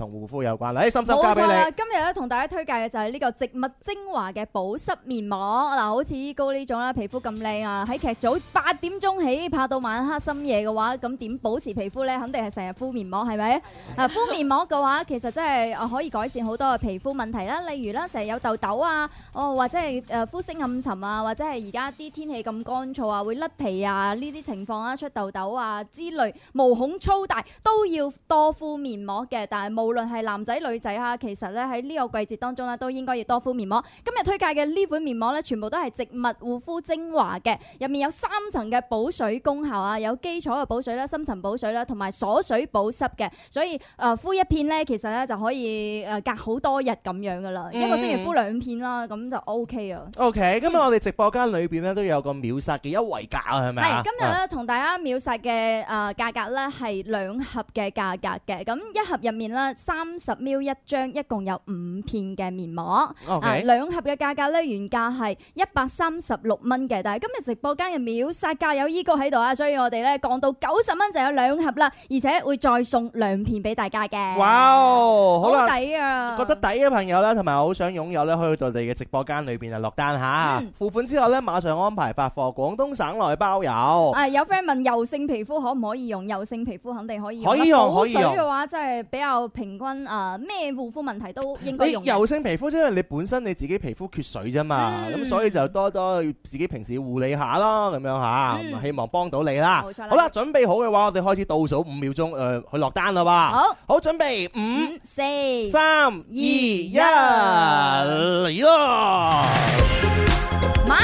膚有關。嚟，心心交俾你。 冇錯啦，今日咧同大家推介嘅就係呢個植物精華嘅保濕面膜。嗱，好似依高呢種啦，皮膚咁靚啊，喺劇組八點鐘起拍到晚黑深夜嘅話，咁點保持皮膚咧？肯定係成日敷面膜，係咪？啊，敷面膜嘅話，其實真係可以改善好多嘅皮膚問題啦。例如啦，成日有痘痘啊，哦或者係誒膚色暗沉啊，或者係而家啲天氣咁乾燥啊，會甩皮啊呢啲情況啊，出痘痘啊之類，毛孔粗大都要多敷面膜嘅。但係無論係男仔女仔啊，其實咧喺呢個季節當中咧，都應該要多敷面膜。今日推介嘅呢款面膜咧，全部都係植物護膚精華嘅，入面有三層嘅補水功效啊，有基礎嘅補水啦、深層補水啦，同埋鎖水保濕嘅，所以誒、呃、敷一片咧，其實咧就可以誒隔好多日咁樣噶啦，嗯、一個星期敷兩片啦，咁就 O K 啊。 O K， 今日我哋直播間裏邊咧都有個秒殺嘅優惠價啊，係咪啊？係， 今日咧同大家秒殺嘅誒價格咧係兩盒嘅價格嘅，咁一盒入面咧三十 m l 一張，一共有五片嘅面膜。O K， 啊兩盒嘅價格咧原價係一百三十六蚊嘅，但係今日直播間嘅秒殺價有依高喺度啊，所以我哋咧降到九十蚊就有兩盒啦，而且會再送兩片俾大家嘅。 哇，好抵啊！ 覺得抵嘅朋友咧，同埋好想擁有咧，可以到我哋嘅直播間裏邊啊落單嚇，嗯、付款之後咧馬上安排發貨，廣東省內包郵。 啊，有 friend 問油性皮膚可唔可以用？油性皮膚肯定可以用。 可以用，可以用。 補水嘅話，即係比較平均啊，咩護膚問題都應該用。 你油性皮膚即係你本身你自己皮膚缺水啫嘛，咁、嗯、所以就多多自己平時護理下啦，咁樣嚇，嗯、希望幫到你啦。冇錯啦。好啦，準備好嘅話，我哋開始倒數五秒鐘，誒、呃、去落單啦喎。好，好，準備五、四、三、二、一，嚟咯！ 買。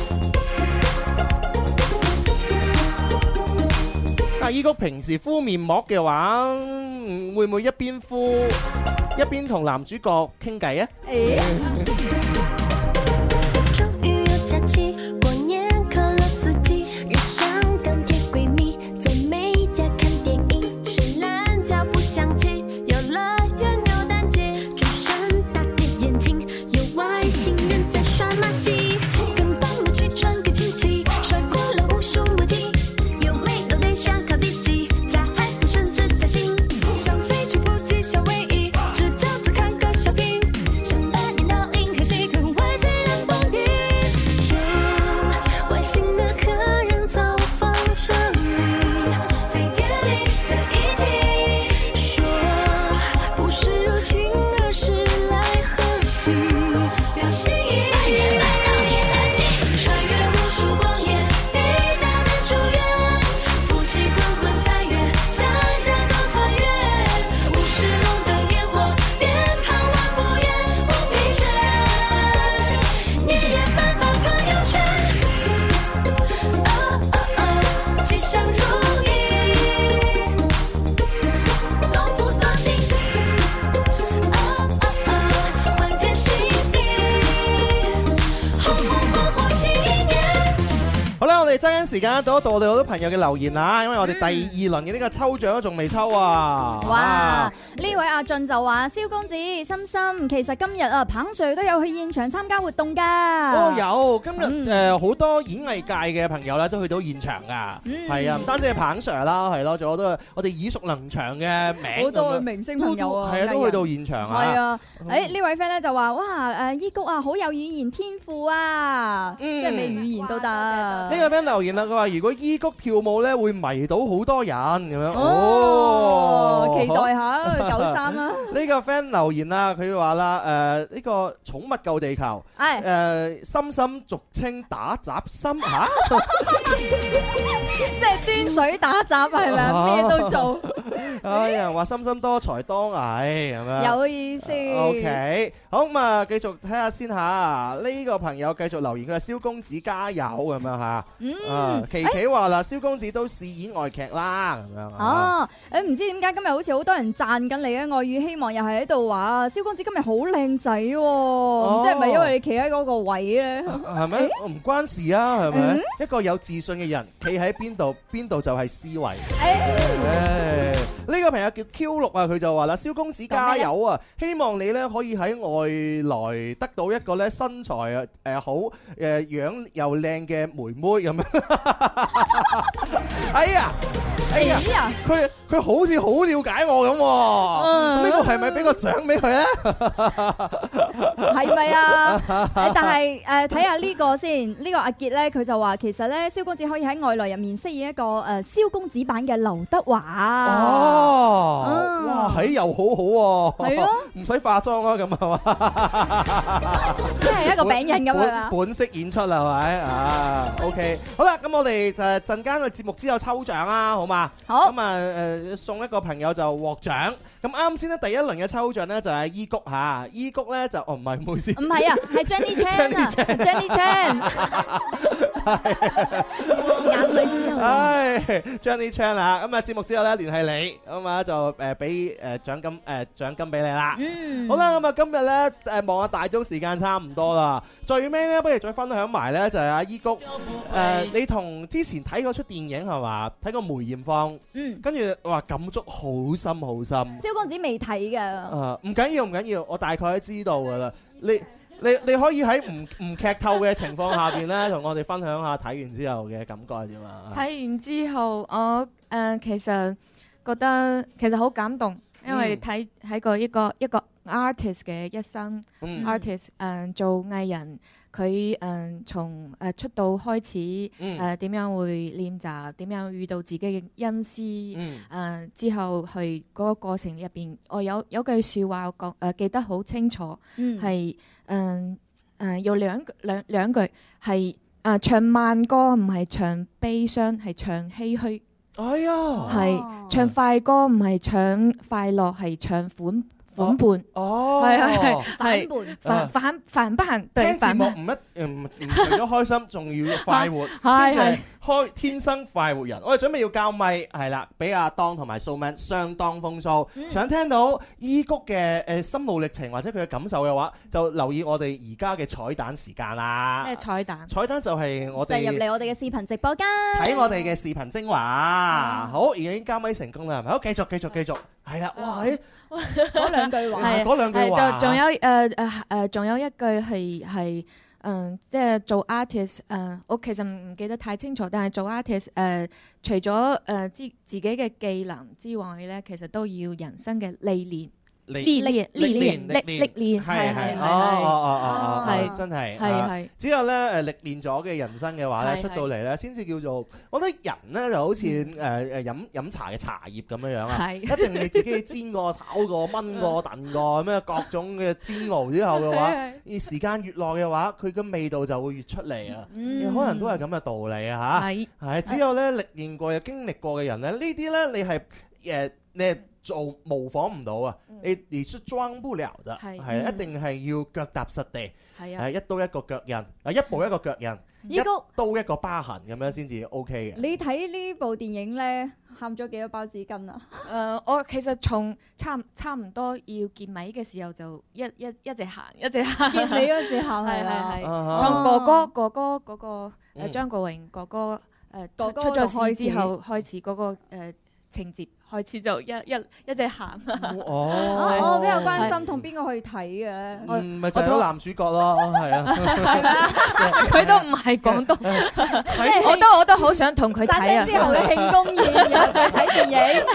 阿依谷平時敷面膜嘅話，會唔會一邊敷一邊同男主角傾偈啊？欸揸緊時間到一到我哋好多朋友嘅留言啦，因為我哋第二輪嘅呢個抽獎都仲未抽啊！ 哇！呢位阿俊就話：蕭公子、心心，其實今日啊，彭 Sir 都有去現場參加活動㗎。 哦，有今日誒好多演藝界嘅朋友咧都去到現場㗎，係啊，唔單止係彭 Sir 啦，係咯，仲有好多我哋耳熟能詳嘅名， 好多明星朋友啊， 係啊，都去到現場啊。 係啊，誒呢位 friend 咧就話：哇誒依谷啊，好有語言天賦啊，即係咩語言都得。呢個 friend留言啦，佢話如果依谷跳舞咧會迷到好多人咁樣。 哦，期待下九三啦。 呢個 friend 留言啦，佢話啦誒呢個寵物救地球，誒深深俗稱打雜心嚇， 即係端水打雜係咪啊？咩都做。 有人話深深多才多藝咁樣。 有意思。 OK，好咁啊，繼續睇下先嚇。呢個朋友繼續留言，佢話蕭公子加油咁樣嚇。嗯，琪琪話啦，蕭公子都試演外劇啦咁樣。 哦，誒唔知點解今日好似好多人讚緊你嘅外語，希望又係喺度話蕭公子今日好靚仔喎，唔知係咪因為你企喺嗰個位咧？ 係咪？唔關事啊，係咪？一個有自信嘅人，企喺邊度，邊度就係思維。誒，呢個朋友叫 Q 六啊，佢就話啦，蕭公子加油啊！希望你咧可以喺外來得到一個咧身材誒好誒樣又靚嘅妹妹咁樣。哎呀！ 哎呀，佢佢好似好了解我咁喎，呢個係咪俾個獎俾佢咧？ 係咪啊？但係誒睇下呢個先，呢個阿傑咧佢就話其實咧蕭公子可以喺外來入面飾演一個誒蕭公子版嘅劉德華。 哦，哇，係又好好喎， 係咯， 唔使化妝啦，咁係嘛？ 即係一個餅印咁樣啊！ 本色演出啦，係咪啊？OK，好啦，咁我哋就係陣間嘅節目之後抽獎啦，好嘛？ 好。 咁啊誒送一個朋友就獲獎。咁啱先咧，第一輪嘅抽獎咧就係伊谷嚇，伊谷咧就哦唔係，唔好意思， 唔係啊，係 Jenny Chan 啊 ，Jenny Chan， 眼淚之後， 唉 Jenny Chan 啊，咁啊節目之後咧聯繫你，咁啊就誒俾誒獎金誒獎金俾你啦。 嗯， 好啦，咁啊今日咧誒望下大鐘時間差唔多啦，最尾咧不如再分享埋咧就係阿伊谷誒，你同之前睇嗰出電影係嘛？睇過梅艷芳， 嗯，跟住話感觸好深好深。 蕭公子未睇㗎。 啊，唔緊要唔緊要，我大概都知道㗎啦。你你你可以喺唔唔劇透嘅情況下邊咧，同我哋分享下睇完之後嘅感覺係點啊？ 睇完之後，我誒、呃、其實覺得其實好感動，因為睇睇過一個一個 artist 嘅一生、嗯、，artist 誒、呃、做藝人。佢誒從誒出道開始誒點樣會練習，點樣遇到自己嘅恩師誒之後去嗰個過程入邊，我有有句説話我講誒記得好清楚，係誒誒有兩兩兩句係誒唱慢歌唔係唱悲傷，係唱唏噓。 哎呀， 係唱快歌唔係唱快樂，係唱款。反叛哦， 係係係係反反反叛，對聽節目唔一唔唔除咗開心，仲要快活，即係開天生快活人。我哋準備要交咪係啦，俾阿當同埋素敏相當風騷。想聽到伊谷嘅誒心路歷程或者佢嘅感受嘅話，就留意我哋而家嘅彩蛋時間啦。 咩彩蛋？ 彩蛋就係我哋就入嚟我哋嘅視頻直播間， 睇我哋嘅視頻精華。好，已經交咪成功啦，係咪？好，繼續繼續繼續，係啦，哇！ 嗰兩句話， 係嗰兩句話， 仲仲有誒誒誒，仲有一句係係嗯，即係做 artist 誒，我其實唔記得太清楚，但係做 artist 誒，除咗誒自自己嘅技能之外咧，其實都要人生嘅歷練。歷練歷練歷歷練係係哦哦哦哦，係真係係係。 只有咧誒歷練咗嘅人生嘅話咧，出到嚟咧，先至叫做我覺得人咧就好似誒誒飲飲茶嘅茶葉咁樣樣啊，一定你自己煎過、炒過、燜過、燉過咁樣各種嘅煎熬之後嘅話，而時間越耐嘅話，佢嘅味道就會越出嚟啊！可能都係咁嘅道理啊嚇。係係，只有咧歷練過、有經歷過嘅人咧，呢啲咧你係誒你係做模仿唔到啊！你你是裝不了的，係一定係要腳踏實地，係一刀一個腳印，啊一步一個腳印，一刀一個疤痕咁樣先至 OK 嘅。 你睇呢部電影咧，喊咗幾多包紙巾啊？ 誒，我其實從差差唔多要結尾嘅時候就一一一直行一直行。 結尾嗰時候係係係，從哥哥哥哥嗰個誒張國榮哥哥誒出咗事之後開始嗰個誒情節。開始就一一一直行。 哦， 我比較關心同邊個去睇嘅咧？ 唔咪就係個男主角咯，係啊。 佢都唔係廣東，我都我都好想同佢睇啊。 之後嘅慶功宴又再睇電影。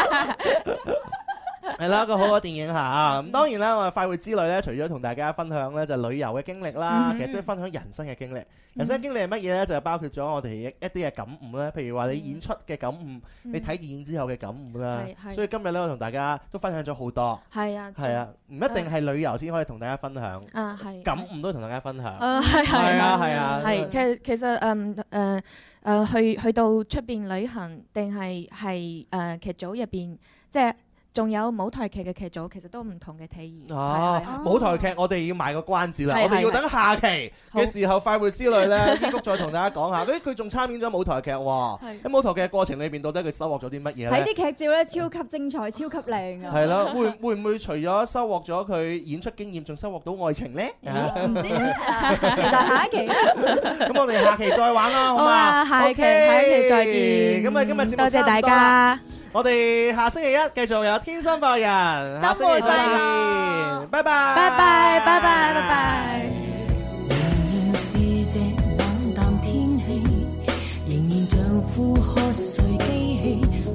係啦，一個好嘅電影嚇。咁當然啦，我哋快活之旅咧，除咗同大家分享咧就旅遊嘅經歷啦，其實都係分享人生嘅經歷。人生經歷係乜嘢咧？就係包括咗我哋一一啲嘅感悟咧。譬如話你演出嘅感悟，你睇電影之後嘅感悟啦。所以今日咧，我同大家都分享咗好多。 係啊， 係啊，唔一定係旅遊先可以同大家分享。 啊，係。 感悟都同大家分享。 啊，係係啊，係啊。 係其實其實誒誒誒去去到出邊旅行，定係係誒劇組入邊即係。仲有舞台劇嘅劇組，其實都唔同嘅體驗。 哦，舞台劇我哋要賣個關子啦，我哋要等下期嘅時候快活之旅咧，伊谷再同大家講下。誒，佢仲參演咗舞台劇喎。喺舞台劇嘅過程裏邊，到底佢收穫咗啲乜嘢咧？ 睇啲劇照咧，超級精彩，超級靚啊！ 係咯，會會唔會除咗收穫咗佢演出經驗，仲收穫到愛情咧？ 唔知，期待下一期啦。 咁我哋下期再玩啦，好嘛？ 下期下期再見。 咁啊，今日節目多謝大家。 我哋下星期一繼續有天生快活人，下星期再見，拜拜， 拜拜，拜拜，拜拜。 仍然是這冷淡天氣，仍然像副瞌睡機器。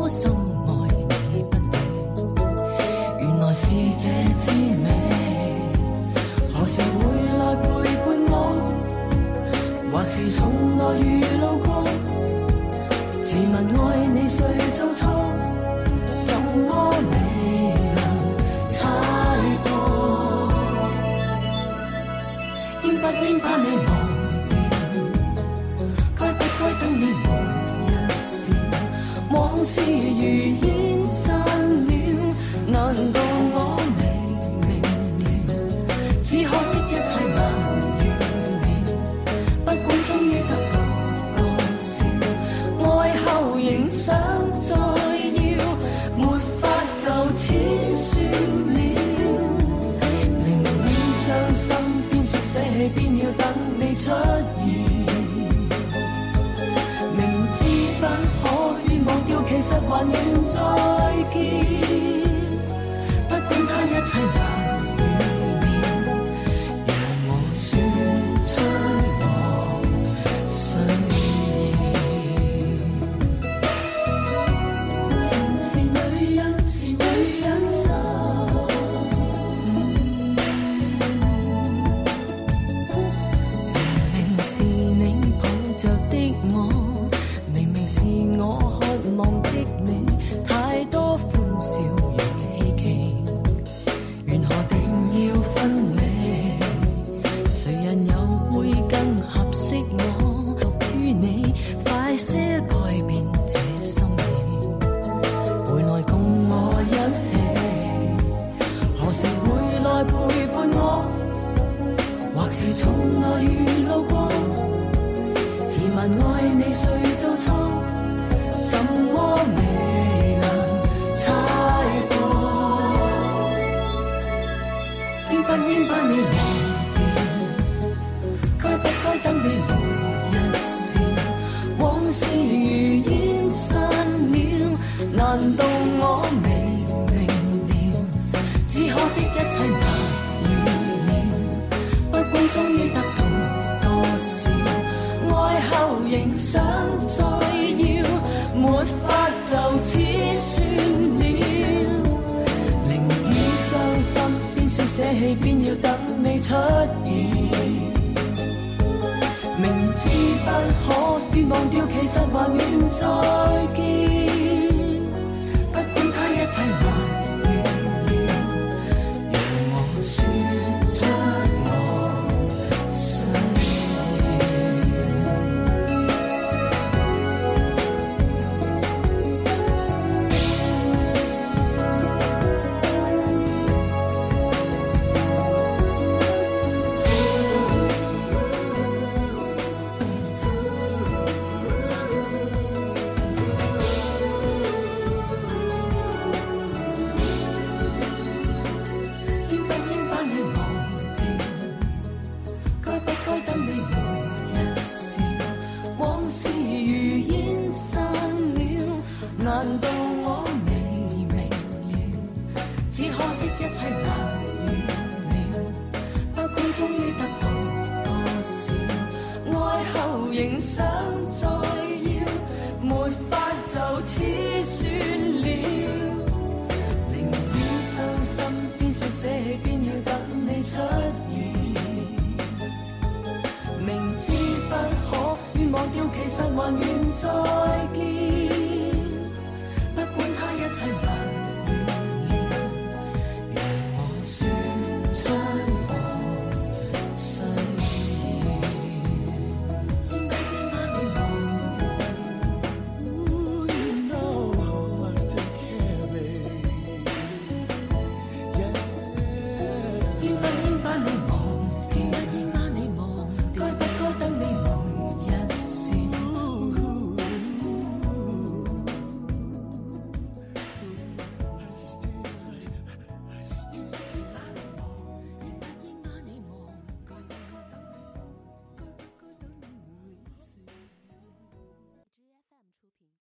心愛你不理，原來是這滋味。何時會來陪伴我？或是從來遇路過？自問愛你誰做錯？怎麼未能猜破？應不應把你忘掉？該不該等你無一事？往事如煙散了，難道我未明了？只可惜一切難預料，不管終於得到多少，愛後仍想再要，沒法就此算了。寧願傷心，邊說捨棄，邊要等你出現。明知不可願忘掉，其實還願再見。不管他一切難預料，讓我說出我需要。情是女人，是女人心。明明是你抱着的我，明明是我渴望的你，太多歡笑與希冀，緣何定要分離？誰人又會更合適我？屬於你，快些改變這心理，回來共我一起。何時會來陪伴我？或是從來遇路過？自問愛你誰做錯？怎麼未能猜破？應不應把你忘掉？該不該等你無一事？往事如煙散了，難道我未明了？只可惜一切難預料，不管終於得到多少，愛後仍想再要，沒法就此算了。寧願傷心，邊說捨棄，邊要等你出現。明知不可願忘掉，其實還願再見。不管他一切難預料，讓我說出我需明知不可願忘掉，其實還願再見。